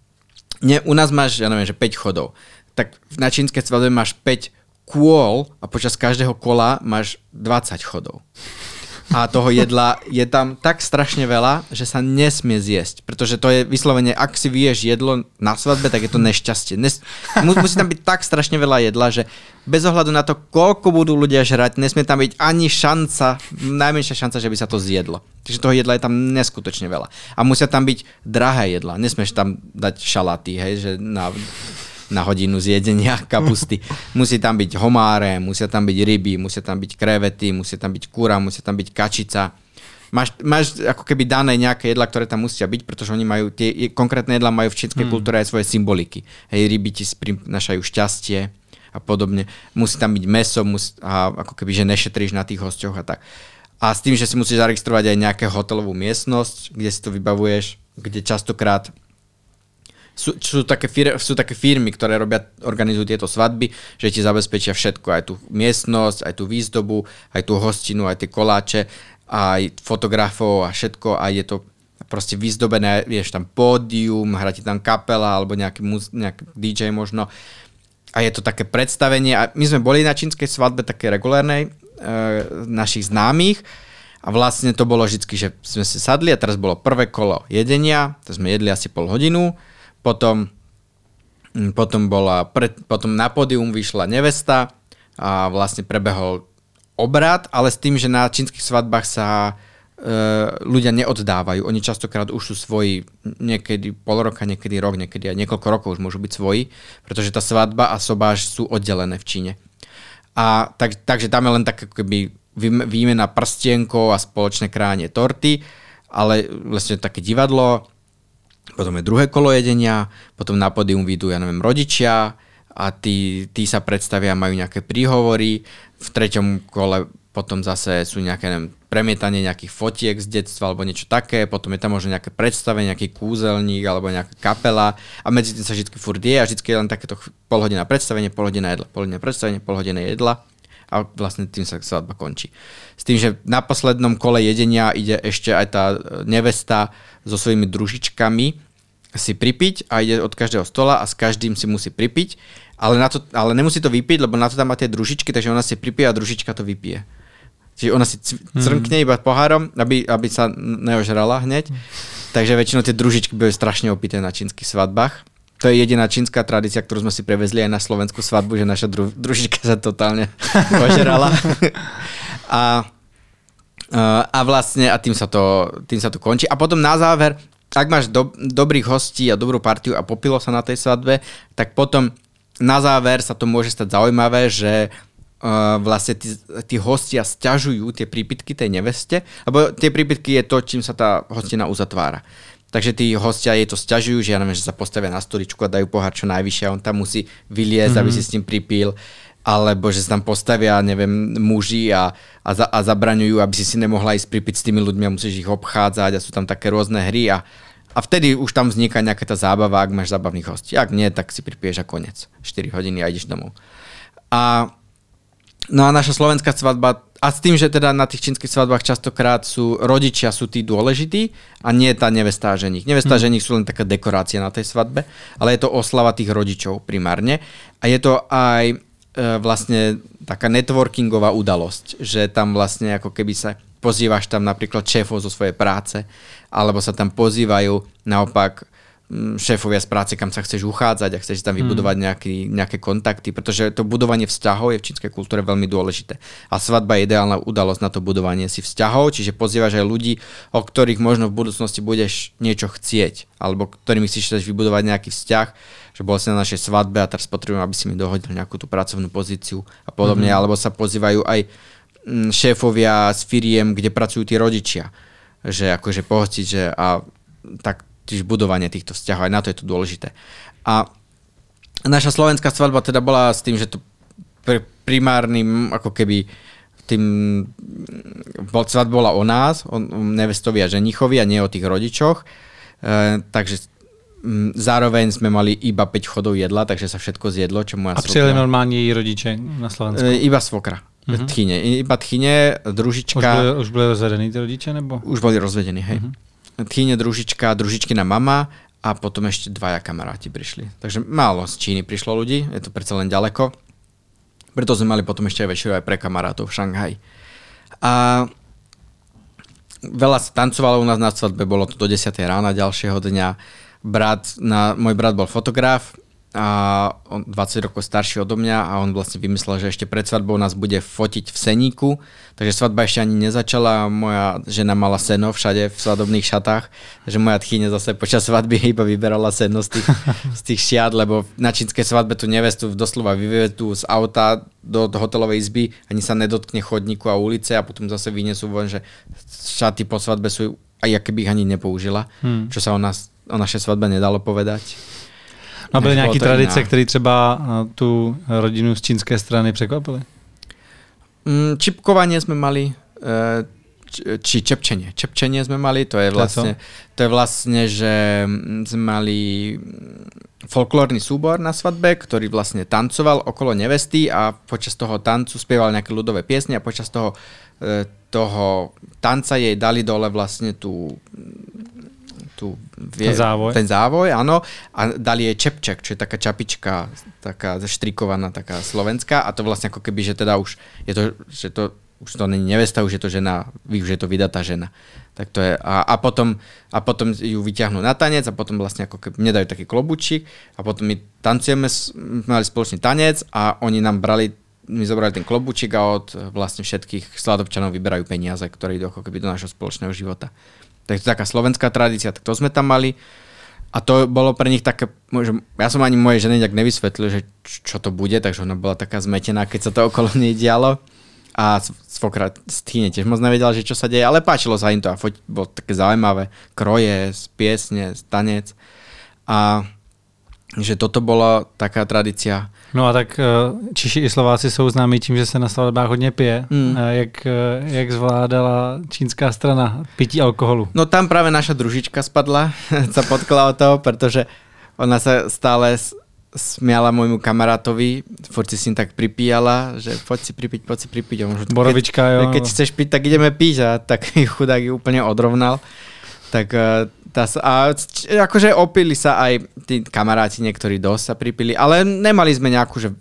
u nás máš, ja neviem, že 5 chodov. Tak na čínskej svadbe máš 5 kôl a počas každého kola máš 20 chodov. A toho jedla je tam tak strašne veľa, že sa nesmie zjesť. Pretože to je vyslovene, ak si vyješ jedlo na svadbe, tak je to nešťastie. Musí tam byť tak strašne veľa jedla, že bez ohľadu na to, koľko budú ľudia žrať, nesmie tam byť ani šanca, najmenšia šanca, že by sa to zjedlo. Takže toho jedla je tam neskutočne veľa. A musia tam byť drahé jedla. Nesmieš tam dať šalaty, hej, že na hodinu zjedenia kapusty. Musí tam byť homáre, musia tam byť ryby, musia tam byť krevety, musia tam byť kura, musia tam byť kačica. Máš ako keby dané nejaké jedlá, ktoré tam musia byť, pretože oni majú tie konkrétne jedlá majú v čínskej kultúre aj svoje symboliky. Hej, ryby ti prinášajú šťastie a podobne. Musí tam byť mäso a ako keby, že nešetríš na tých hosťoch a tak. A s tým, že si musíš zaregistrovať aj nejakú hotelovú miestnosť, kde si to vybavuješ, kde častokrát sú také firmy, ktoré organizujú tieto svadby, že ti zabezpečia všetko, aj tú miestnosť, aj tú výzdobu, aj tú hostinu, aj tie koláče, aj fotografov a všetko a je to proste vyzdobené, vieš tam pódium, hrá ti tam kapela alebo nejaký DJ možno a je to také predstavenie a my sme boli na čínskej svadbe také regulárnej našich známych a vlastne to bolo vždycky, že sme si sadli a teraz bolo prvé kolo jedenia, to sme jedli asi pol hodinu. Potom na pódium vyšla nevesta a vlastne prebehol obrad, ale s tým, že na čínskych svadbách sa ľudia neoddávajú. Oni častokrát už sú svoji, niekedy pol roka, niekedy rok, niekedy aj niekoľko rokov už môžu byť svoji, pretože tá svadba a sobáš sú oddelené v Číne. A takže tam je len tak keby výmena prstienkov a spoločné kránie torty, ale vlastne také divadlo. Potom je druhé kolo jedenia, potom na pódium vyjdú, ja neviem, rodičia a tí sa predstavia, majú nejaké príhovory. V treťom kole potom zase sú nejaké, neviem, premietanie nejakých fotiek z detstva alebo niečo také, potom je tam možno nejaké predstavenie, nejaký kúzelník alebo nejaká kapela a medzi tým sa vždy furt je a vždy je len takéto pol hodina predstavenie, pol hodina jedla, pol hodina predstavenie, pol hodina jedla a vlastne tým sa svadba končí. S tým, že na poslednom kole jedenia ide ešte aj tá nevesta so svojimi družičkami si pripiť a ide od každého stola a s každým si musí pripiť, ale nemusí to vypiť, lebo na to tam má tie družičky, takže ona si pripije a družička to vypije. Čiže ona si crnkne iba pohárom, aby sa neožrala hneď. Takže väčšinou tie družičky boli strašne opité na čínskych svadbách. To je jediná čínska tradícia, ktorú sme si prevezli aj na slovenskú svadbu, že naša družička sa totálne ožrala. A vlastne a tým sa to končí. A potom na záver, ak máš dobrých hostí a dobrú partiu a popilo sa na tej svadbe, tak potom na záver sa to môže stať zaujímavé, že vlastne tí hostia sťažujú tie prípitky tej neveste, lebo tie prípitky je to, čím sa tá hostina uzatvára. Takže tí hostia jej to sťažujú, že ja neviem, že sa postavia na stoličku a dajú pohár čo najvyššie a on tam musí vyliezť, aby si s tým pripil. Alebo že sa tam postavia, neviem, muži a zabraňujú, aby si nemohla ísť pripiť s tými ľuďmi a musíš ich obchádzať a sú tam také rôzne hry a vtedy už tam vzniká nejaká tá zábava, ak máš zábavných hostí. Ak nie, tak si pripiješ a koniec. 4 hodiny a ideš domov. No a naša slovenská svadba, a s tým, že teda na tých čínskych svadbách častokrát rodičia sú tí dôležití a nie tá nevesta a ženich. Nevesta a ženich sú len taká dekorácia na tej svadbe, ale je to oslava tých rodičov primárne. A je to aj vlastne taká networkingová udalosť, že tam vlastne ako keby sa pozývaš tam napríklad šéfov zo svojej práce, alebo sa tam pozývajú naopak šéfovia z práce, kam sa chceš uchádzať a chceš tam vybudovať nejaké kontakty, pretože to budovanie vzťahov je v čínskej kultúre veľmi dôležité. A svadba je ideálna udalosť na to budovanie si vzťahov, čiže pozývaš aj ľudí, o ktorých možno v budúcnosti budeš niečo chcieť, alebo ktorými chceš vybudovať nejaký vzťah, že bol si na našej svadbe a teraz potrebujem, aby si mi dohodil nejakú tú pracovnú pozíciu a podobne, alebo sa pozývajú aj šéfovia z firiem, kde pracujú tí rodičia, že akože pohostiť, že a tak tiež budovanie týchto vzťahov, aj na to je to dôležité. A naša slovenská svadba teda bola s tým, že to primárnym, ako keby svadba bola o nás, o nevestovi a ženichovi a nie o tých rodičoch. Takže zároveň sme mali iba 5 chodov jedla, takže sa všetko zjedlo, čo moja svokra. A přijeli normálně její rodiče na Slovensku? Iba svokra. Iba tchyne, družička. Už byli rozvedení ty rodiče, nebo? Už boli rozvedení, hej. Tchyne, družička, družičkina mama a potom ešte 2 kamaráti prišli. Takže málo z Číny prišlo ľudí, je to predsa len ďaleko. Preto sme mali potom ešte aj večeru aj pre kamarátov v Šanghaji. A veľa sa tancovalo u nás na svadbe, bolo to do 10 rána ďalšieho dňa. Môj brat bol fotograf a on 20 rokov starší odo mňa a on vlastne vymyslel, že ešte pred svadbou nás bude fotiť v seníku, takže svadba ešte ani nezačala, moja žena mala seno všade v svadobných šatách, takže moja tchyňa zase počas svadby iba vyberala seno z tých šiat, lebo na čínskej svadbe tú nevestu doslova vyvedú z auta do hotelovej izby, ani sa nedotkne chodníku a ulice a potom zase vyniesú von, že šaty po svadbe sú, aj keby ich ani nepoužila, čo sa o našej svadbe nedalo povedať. A byly nějaké tradice, které třeba tu rodinu z čínské strany překvapily? Čipkovanie sme mali, či čepčenie. Čepčenie sme mali, to je vlastne, že sme mali folklórny súbor na svadbe, ktorý vlastne tancoval okolo nevesty a počas toho tancu spieval nejaké ľudové piesne a počas toho tanca jej dali dole vlastne ten závoj, áno, a dali jej čepček, čo je taká čapička, taká zaštrikovaná, taká slovenská a to vlastne ako keby, že teda už je to, že to už to není nevesta, už je to žena, už je to vydatá žena. Tak to je, a potom ju vyťahnú na tanec a potom vlastne ako keby nedajú taký klobučík a potom my tancujeme, mali spoločný tanec a oni nám my zobrali ten klobučík a od vlastne všetkých svadobčanov vyberajú peniaze, ktoré idú ako keby do našho spoločného života. Tak to je taká slovenská tradícia, tak to sme tam mali a to bolo pre nich také, ja som ani mojej žene nejak nevysvetlil, že čo to bude, takže ona bola taká zmetená, keď sa to okolo nej dialo a svokra Tchyne tiež moc nevedela, že čo sa deje, ale páčilo sa im to a bolo také zaujímavé, kroje, piesne, tanec a že toto bola taká tradícia. No a tak Češi i Slováci jsou známí tím, že se na svatbách hodně pije. Jak zvládala čínská strana pití alkoholu? No tam práve naša družička spadla, sa potkla o to, pretože ona sa stále smiala môjmu kamarátovi, furt si s ním tak pripíjala, že poď si pripiť. Borovička, jo. Keď chceš piť, tak ideme piť a tak chudák ju úplne odrovnal. Tak akože opili sa aj tí kamaráti, niektorí dosť sa pripili, ale nemali sme nejakú, že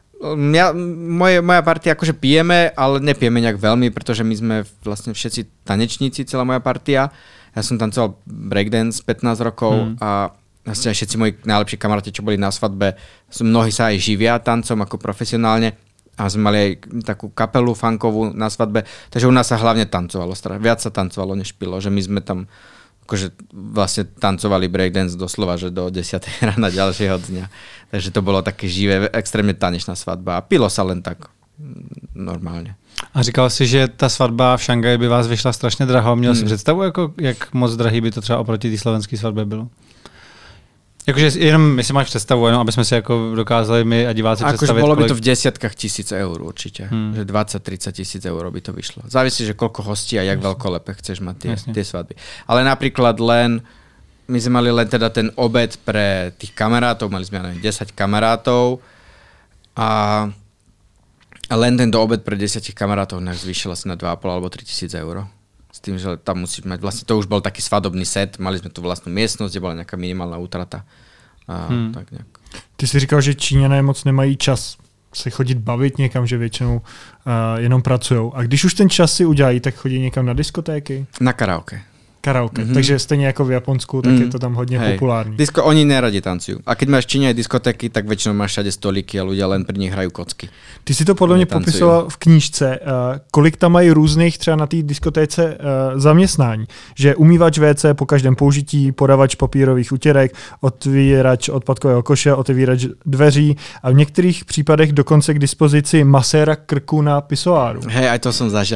moja partia akože pijeme, ale nepijeme nejak veľmi, pretože my sme vlastne všetci tanečníci, celá moja partia. Ja som tancoval breakdance 15 rokov a vlastne všetci moji najlepší kamaráti, čo boli na svadbe, mnohí sa aj živia tancom ako profesionálne a sme mali aj takú kapelu funkovú na svadbe, takže u nás sa hlavne tancovalo, viac sa tancovalo než pilo, že my sme tam akože vlastne tancovali breakdance doslova, že do 10 rána ďalšieho dňa. Takže to bolo také živé, extrémne tanečná svadba a pilo sa len tak normálně. A říkal jsi, že ta svatba v Šangaji by vás vyšla strašně draho. Měl jsi představu, jako, jak moc drahý by to třeba oproti té slovenské svatbě bylo? Jakože jenom, jestli máš představu, jenom aby jsme si jako dokázali my a diváci představit. Bolo by to v desiatkách tisíc eur určite. Že 20-30 tisíc eur by to vyšlo. Závisí, že koľko hostí a jak veľkolepé chceš mať tie svadby. Ale napríklad my sme mali len teda ten obed pre tých kamarátov, mali sme 10 kamarátov a len tento obed pre 10 kamarátov nás zvýšil asi na 2,5 alebo 3 tisíc eur. S tým, že tam musíš mať, vlastne to už bol taký svadobný set, mali sme tu vlastnú miestnosť, kde bola nejaká minimálna útrata. Tak nejak. Ty jsi říkal, že Číňané moc nemají čas se chodit bavit někam, že většinou jenom pracujou. A když už ten čas si udělají, tak chodí někam na diskotéky? Na karaoke. Takže stejně jako v Japonsku, tak je to tam hodně populární. Oni neradi tancujú. A keď máš v Číne aj diskotéky, tak väčšinou máš všade stolíky a ľudia len pri nich hrajú kocky. Ty si to podle mě popisoval v knížce. Kolik tam mají různých třeba na té diskotéce zaměstnání? Že umývač WC po každém použití, podavač papírových utěrek, otvírač odpadkového koše, otevírač dveří a v některých případech dokonce k dispozici maséra krku na pisoáru. Hej, aj to som zažil.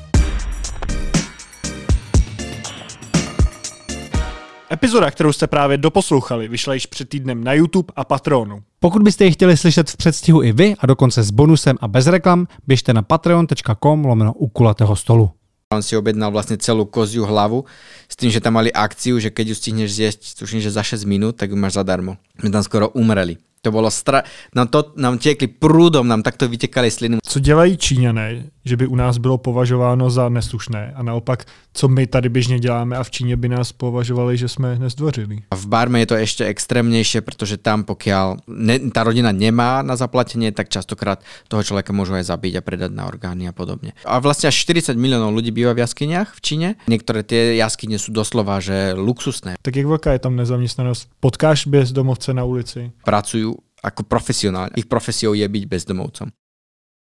Epizoda, kterou jste právě doposlouchali, vyšla již před týdnem na YouTube a Patronu. Pokud byste ji chtěli slyšet v předstihu i vy a dokonce s bonusem a bez reklam, běžte na patreon.com/ukulatého stolu. On si objednal vlastne celú koziu hlavu s tým, že tam mali akciu, že keď ju stihneš zjesť, tuším, že za 6 minút, tak ju máš zadarmo. My tam skoro umreli. To bolo nám tiekli prúdom, nám takto vytekali sliny. Co dělají Číňané, že by u nás bylo považováno za neslušné a naopak, co my tady běžně děláme a v Číně by nás považovali, že jsme nezdvořili? A v Barme je to ešte extrémnejšie, pretože tam pokiaľ tá rodina nemá na zaplatenie, tak častokrát toho človeka môžu aj zabiť a predať na orgány a podobne. A vlastne až 40 miliónov ľudí býva v jaskyniach v Číne. Niektoré tie jaskyne sú doslova že luxusné. Tak jak veľká je tam nezaměstnanost? Potkáš bezdomovce na ulici? Pracujú ako profesionálne. Ich profesiou je byť bezdomovcom.